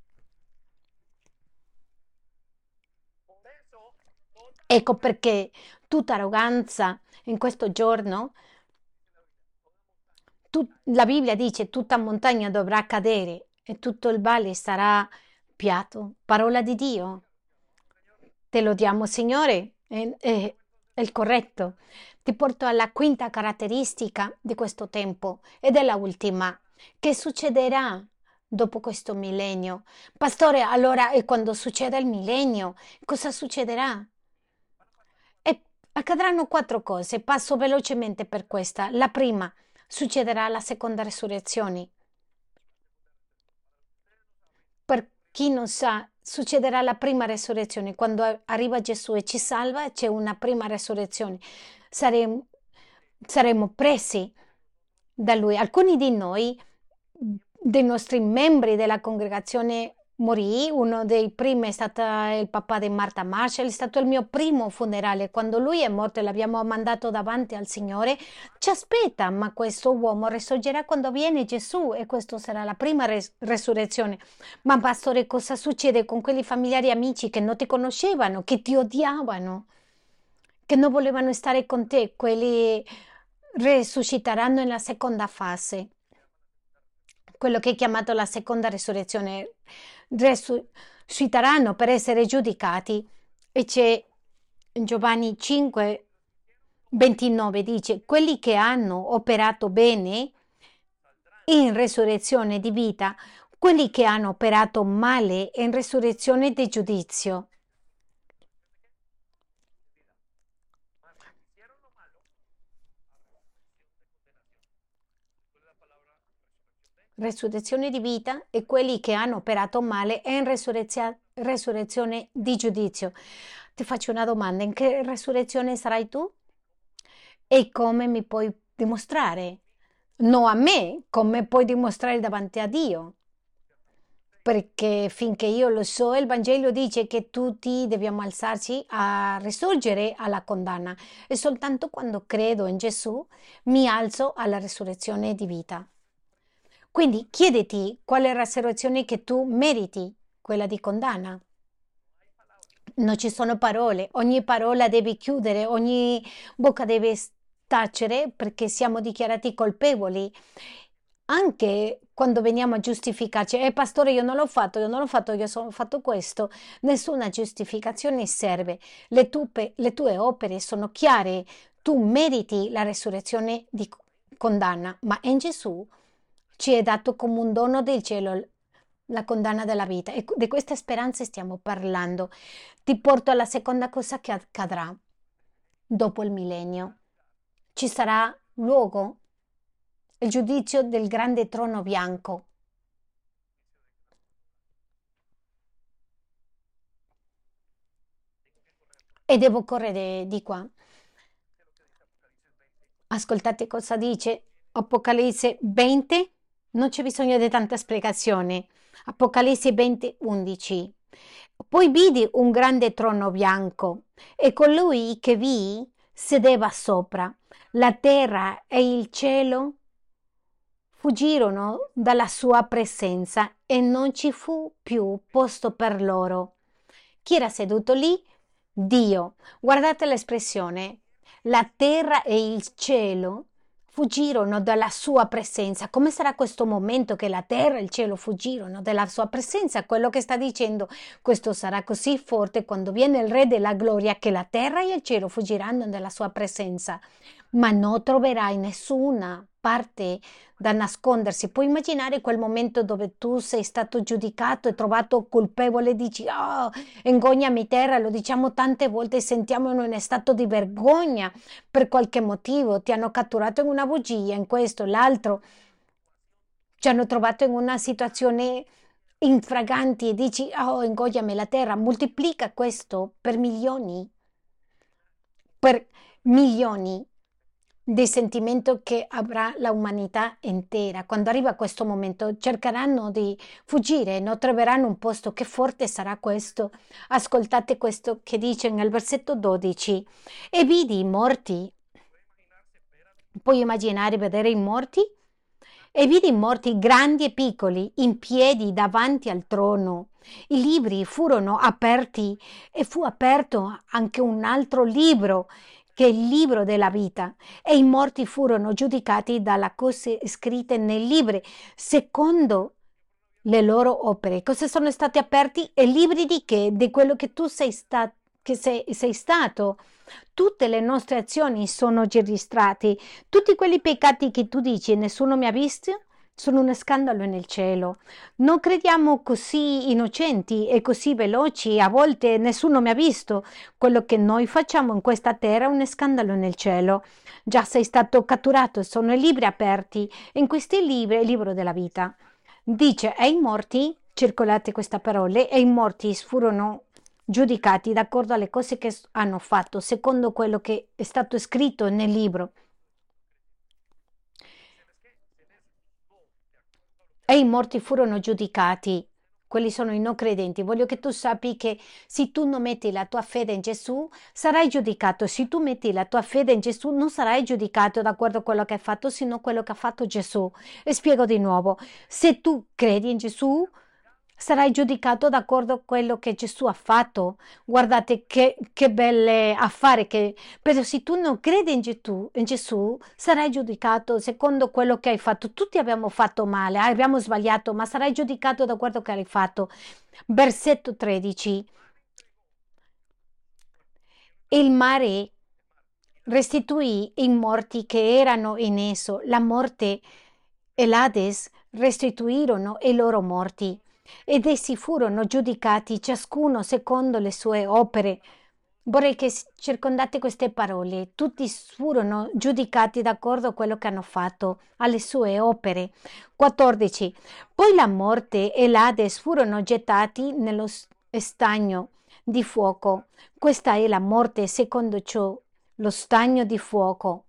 Ecco perché tutta arroganza in questo giorno, tu- la Bibbia dice tutta montagna dovrà cadere e tutto il valle sarà piatto. Parola di Dio. Te lo diamo, Signore. E, e il corretto. Ti porto alla quinta caratteristica di questo tempo ed è la ultima. Che succederà dopo questo millennio? Pastore, allora, e quando succeda il millennio, cosa succederà? E accadranno quattro cose. Passo velocemente per questa. La prima, succederà la seconda resurrezione. Per chi non sa, succederà la prima resurrezione. Quando a- arriva Gesù e ci salva, c'è una prima resurrezione. Saremo, saremo presi da Lui. Alcuni di noi, dei nostri membri della congregazione, morì. Uno dei primi è stato il papà di Martha Marshall, è stato il mio primo funerale. Quando lui è morto e l'abbiamo mandato davanti al Signore, ci aspetta, ma questo uomo risorgerà quando viene Gesù e questa sarà la prima res- resurrezione. Ma pastore, cosa succede con quelli familiari e amici che non ti conoscevano, che ti odiavano, che non volevano stare con te? Quelli resusciteranno nella seconda fase, quello che è chiamato la seconda resurrezione. Resusciteranno per essere giudicati. E c'è in Giovanni cinque ventinove dice: quelli che hanno operato bene in resurrezione di vita, quelli che hanno operato male in resurrezione di giudizio. Resurrezione di vita e quelli che hanno operato male in resurrezia- resurrezione di giudizio. Ti faccio una domanda: in che resurrezione sarai tu? E come mi puoi dimostrare? No a me, come puoi dimostrare davanti a Dio? Perché finché io lo so, il Vangelo dice che tutti dobbiamo alzarci a risorgere alla condanna e soltanto quando credo in Gesù mi alzo alla resurrezione di vita. Quindi chiediti qual è la resurrezione che tu meriti, quella di condanna. Non ci sono parole, ogni parola devi chiudere, ogni bocca deve tacere perché siamo dichiarati colpevoli. Anche quando veniamo a giustificarci, eh pastore, io non l'ho fatto, io non l'ho fatto, io ho fatto questo. Nessuna giustificazione serve. Le tue, le tue opere sono chiare. Tu meriti la resurrezione di condanna, ma in Gesù ci è dato come un dono del cielo la condanna della vita. E di queste speranze stiamo parlando. Ti porto alla seconda cosa che accadrà dopo il millennio. Ci sarà luogo, il giudizio del grande trono bianco. E devo correre di qua. Ascoltate cosa dice Apocalisse venti. Non c'è bisogno di tanta spiegazione. Apocalisse venti, undici. Poi vidi un grande trono bianco e colui che vi sedeva sopra. La terra e il cielo fuggirono dalla sua presenza e non ci fu più posto per loro. Chi era seduto lì? Dio. Guardate l'espressione. La terra e il cielo fuggirono dalla sua presenza. Come sarà questo momento che la terra e il cielo fuggirono dalla sua presenza? Quello che sta dicendo, questo sarà così forte quando viene il Re della Gloria che la terra e il cielo fuggiranno dalla sua presenza. Ma non troverai nessuna parte da nascondersi. Puoi immaginare quel momento dove tu sei stato giudicato e trovato colpevole e dici: oh, ingognami terra, lo diciamo tante volte, sentiamo in uno stato di vergogna per qualche motivo, ti hanno catturato in una bugia, in questo, l'altro, ci hanno trovato in una situazione infraganti e dici: oh, ingoiami la terra, moltiplica questo per milioni, per milioni di sentimento che avrà l'umanità intera. Quando arriva questo momento cercheranno di fuggire, non troveranno un posto. Che forte sarà questo. Ascoltate questo che dice nel versetto dodici: e vidi i morti. Puoi immaginare vedere i morti? E vidi i morti grandi e piccoli in piedi davanti al trono. I libri furono aperti e fu aperto anche un altro libro, che è il libro della vita, e i morti furono giudicati dalle cose scritte nei libri secondo le loro opere. Cosa sono stati aperti? E libri di che? Di quello che tu sei stato che sei, sei stato. Tutte le nostre azioni sono registrate. Tutti quelli peccati che tu dici, nessuno mi ha visto, sono uno scandalo nel cielo. Non crediamo così innocenti e così veloci, a volte nessuno mi ha visto. Quello che noi facciamo in questa terra è un scandalo nel cielo. Già sei stato catturato, sono i libri aperti. In questi libri è il libro della vita. Dice, e i morti, circolate queste parole, e i morti furono giudicati d'accordo alle cose che hanno fatto, secondo quello che è stato scritto nel libro. E i morti furono giudicati. Quelli sono i non credenti. Voglio che tu sappi che se tu non metti la tua fede in Gesù, sarai giudicato. Se tu metti la tua fede in Gesù, non sarai giudicato da acuerdo a quello che hai fatto, sino quello che ha fatto Gesù. E spiego di nuovo. Se tu credi in Gesù, sarai giudicato d'accordo a quello che Gesù ha fatto. Guardate che, che belle affari che... Però se tu non credi in Gesù, in Gesù, sarai giudicato secondo quello che hai fatto. Tutti abbiamo fatto male, abbiamo sbagliato, ma sarai giudicato da quello che hai fatto. Versetto tredici. Il mare restituì i morti che erano in esso. La morte e l'Ades restituirono i loro morti ed essi furono giudicati ciascuno secondo le sue opere. Vorrei che circondate queste parole. Tutti furono giudicati d'accordo a quello che hanno fatto, alle sue opere. quattordici. Poi la morte e l'Ades furono gettati nello stagno di fuoco. Questa è la morte secondo ciò, lo stagno di fuoco.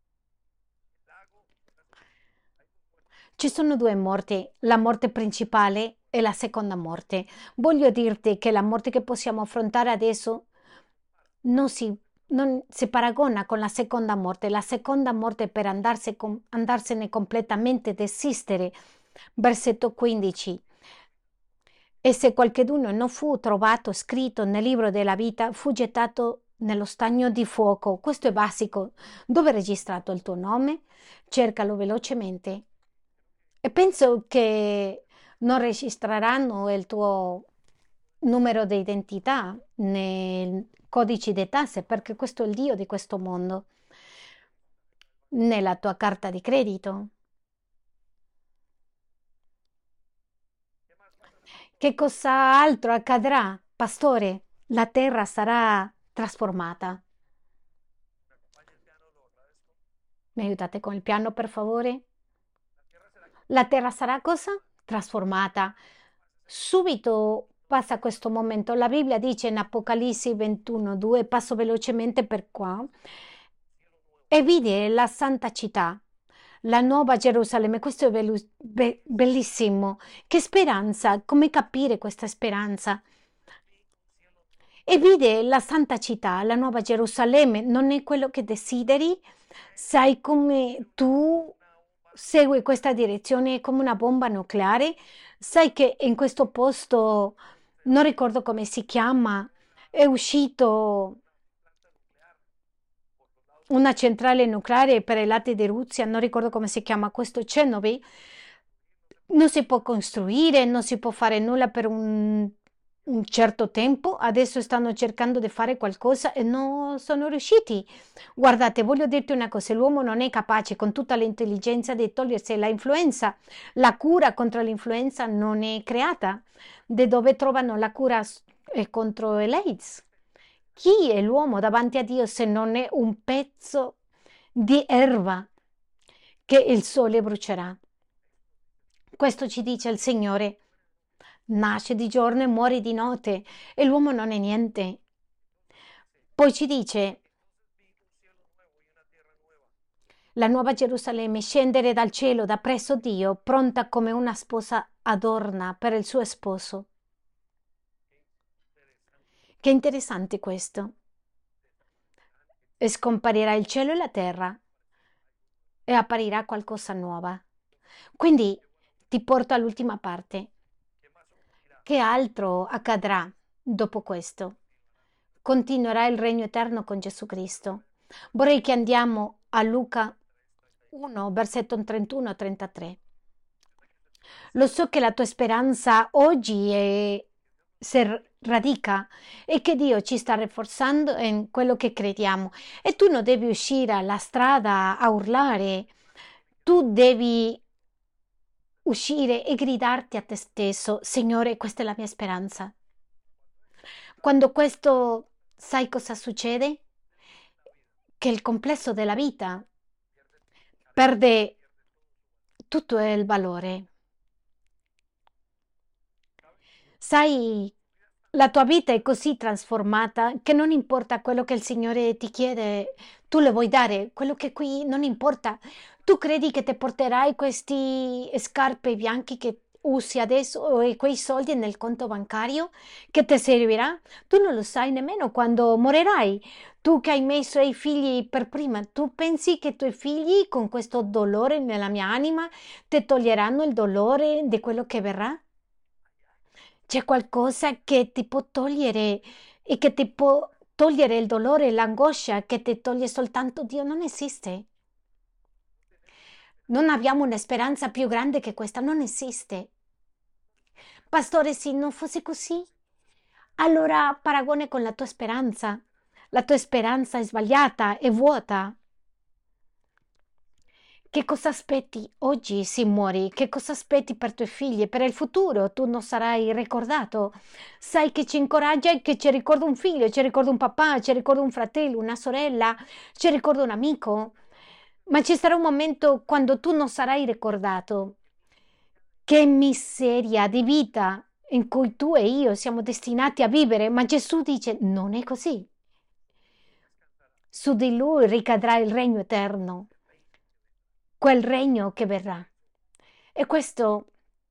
Ci sono due morti, la morte principale e la seconda morte. Voglio dirti che la morte che possiamo affrontare adesso non si, non si paragona con la seconda morte. La seconda morte per andarsi, andarsene completamente, desistere. Versetto quindici. E se qualcheduno non fu trovato scritto nel libro della vita, fu gettato nello stagno di fuoco. Questo è basico. Dove è registrato il tuo nome? Cercalo velocemente. E penso che non registreranno il tuo numero di identità nei codici di tasse, perché questo è il Dio di questo mondo, nella tua carta di credito. Che cosa altro accadrà, pastore? La terra sarà trasformata. Mi aiutate con il piano, per favore? La terra sarà cosa? Trasformata. Subito passa questo momento. La Bibbia dice in Apocalisse ventuno due, passo velocemente per qua, e vide la santa città, la nuova Gerusalemme. Questo è bellu- be- bellissimo. Che speranza, come capire questa speranza? E vide la santa città, la nuova Gerusalemme. Non è quello che desideri? Sai come tu segui questa direzione come una bomba nucleare? Sai che in questo posto, non ricordo come si chiama, è uscito una centrale nucleare per i lati di Russia, non ricordo come si chiama questo, Chernobyl. Non si può costruire, non si può fare nulla per un, un certo tempo. Adesso stanno cercando di fare qualcosa e non sono riusciti. Guardate, voglio dirti una cosa, l'uomo non è capace con tutta l'intelligenza di togliersi la influenza. La cura contro l'influenza non è creata. Da dove trovano la cura s- eh, contro l'AIDS? Chi è l'uomo davanti a Dio se non è un pezzo di erba che il sole brucerà? Questo ci dice il Signore. Nasce di giorno e muore di notte e l'uomo non è niente. Poi ci dice la nuova Gerusalemme scendere dal cielo da presso Dio, pronta come una sposa adorna per il suo sposo. Che interessante questo. E scomparirà il cielo e la terra e apparirà qualcosa nuova. Quindi ti porto all'ultima parte. Che altro accadrà dopo questo? Continuerà il regno eterno con Gesù Cristo. Vorrei che andiamo a Luca uno, versetto trentuno a trentatré. Lo so che la tua speranza oggi è si radica e che Dio ci sta rafforzando in quello che crediamo. E tu non devi uscire alla strada a urlare, tu devi uscire e gridarti a te stesso, Signore, questa è la mia speranza. Quando questo, sai cosa succede? Che il complesso della vita perde tutto il valore. Sai, la tua vita è così trasformata che non importa quello che il Signore ti chiede, tu le vuoi dare, quello che qui non importa. Tu credi che ti porterai questi scarpe bianchi che usi adesso e quei soldi nel conto bancario che ti servirà? Tu non lo sai nemmeno quando morirai. Tu che hai messo i figli per prima, tu pensi che i tuoi figli con questo dolore nella mia anima ti toglieranno il dolore di quello che verrà? C'è qualcosa che ti può togliere e che ti può togliere il dolore e l'angoscia che ti toglie soltanto Dio? Non esiste. Non abbiamo una speranza più grande che questa, non esiste. Pastore, se non fosse così, allora paragone con la tua speranza. La tua speranza è sbagliata, è vuota. Che cosa aspetti oggi se muori? Che cosa aspetti per i tuoi figli? Per il futuro tu non sarai ricordato. Sai che ci incoraggia e che ci ricorda un figlio, ci ricorda un papà, ci ricorda un fratello, una sorella, ci ricorda un amico. Ma ci sarà un momento quando tu non sarai ricordato. Che miseria di vita in cui tu e io siamo destinati a vivere, ma Gesù dice non è così. Su di lui ricadrà il regno eterno, quel regno che verrà. E questo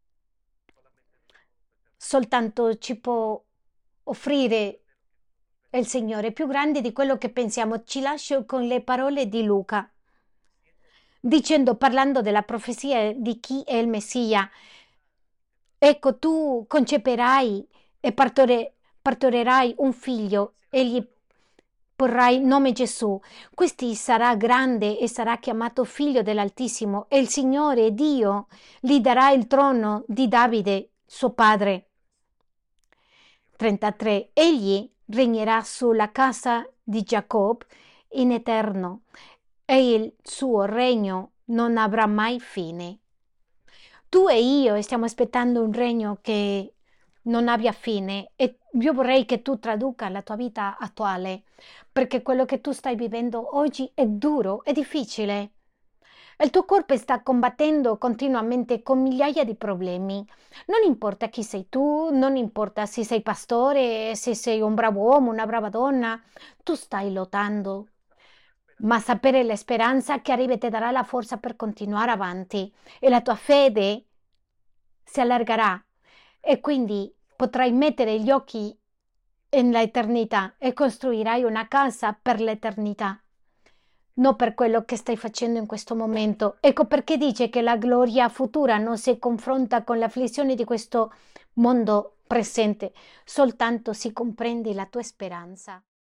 soltanto ci può offrire il Signore, più grande di quello che pensiamo. Ci lascio con le parole di Luca, dicendo, parlando della profezia di chi è il Messia. Ecco, tu conceperai e partore- partorirai un figlio e gli porrai nome Gesù. Questi sarà grande e sarà chiamato figlio dell'Altissimo e il Signore Dio gli darà il trono di Davide, suo padre. trentatré. Egli regnerà sulla casa di Giacobbe in eterno e il suo regno non avrà mai fine. Tu e io stiamo aspettando un regno che non abbia fine e io vorrei che tu traduca la tua vita attuale, perché quello che tu stai vivendo oggi è duro, è difficile. Il tuo corpo sta combattendo continuamente con migliaia di problemi. Non importa chi sei tu, non importa se sei pastore, se sei un bravo uomo, una brava donna, tu stai lottando. Ma sapere la speranza che arriva ti darà la forza per continuare avanti e la tua fede si allargherà e quindi potrai mettere gli occhi nell'eternità e costruirai una casa per l'eternità, non per quello che stai facendo in questo momento. Ecco perché dice che la gloria futura non si confronta con l'afflizione di questo mondo presente, soltanto si comprende la tua speranza.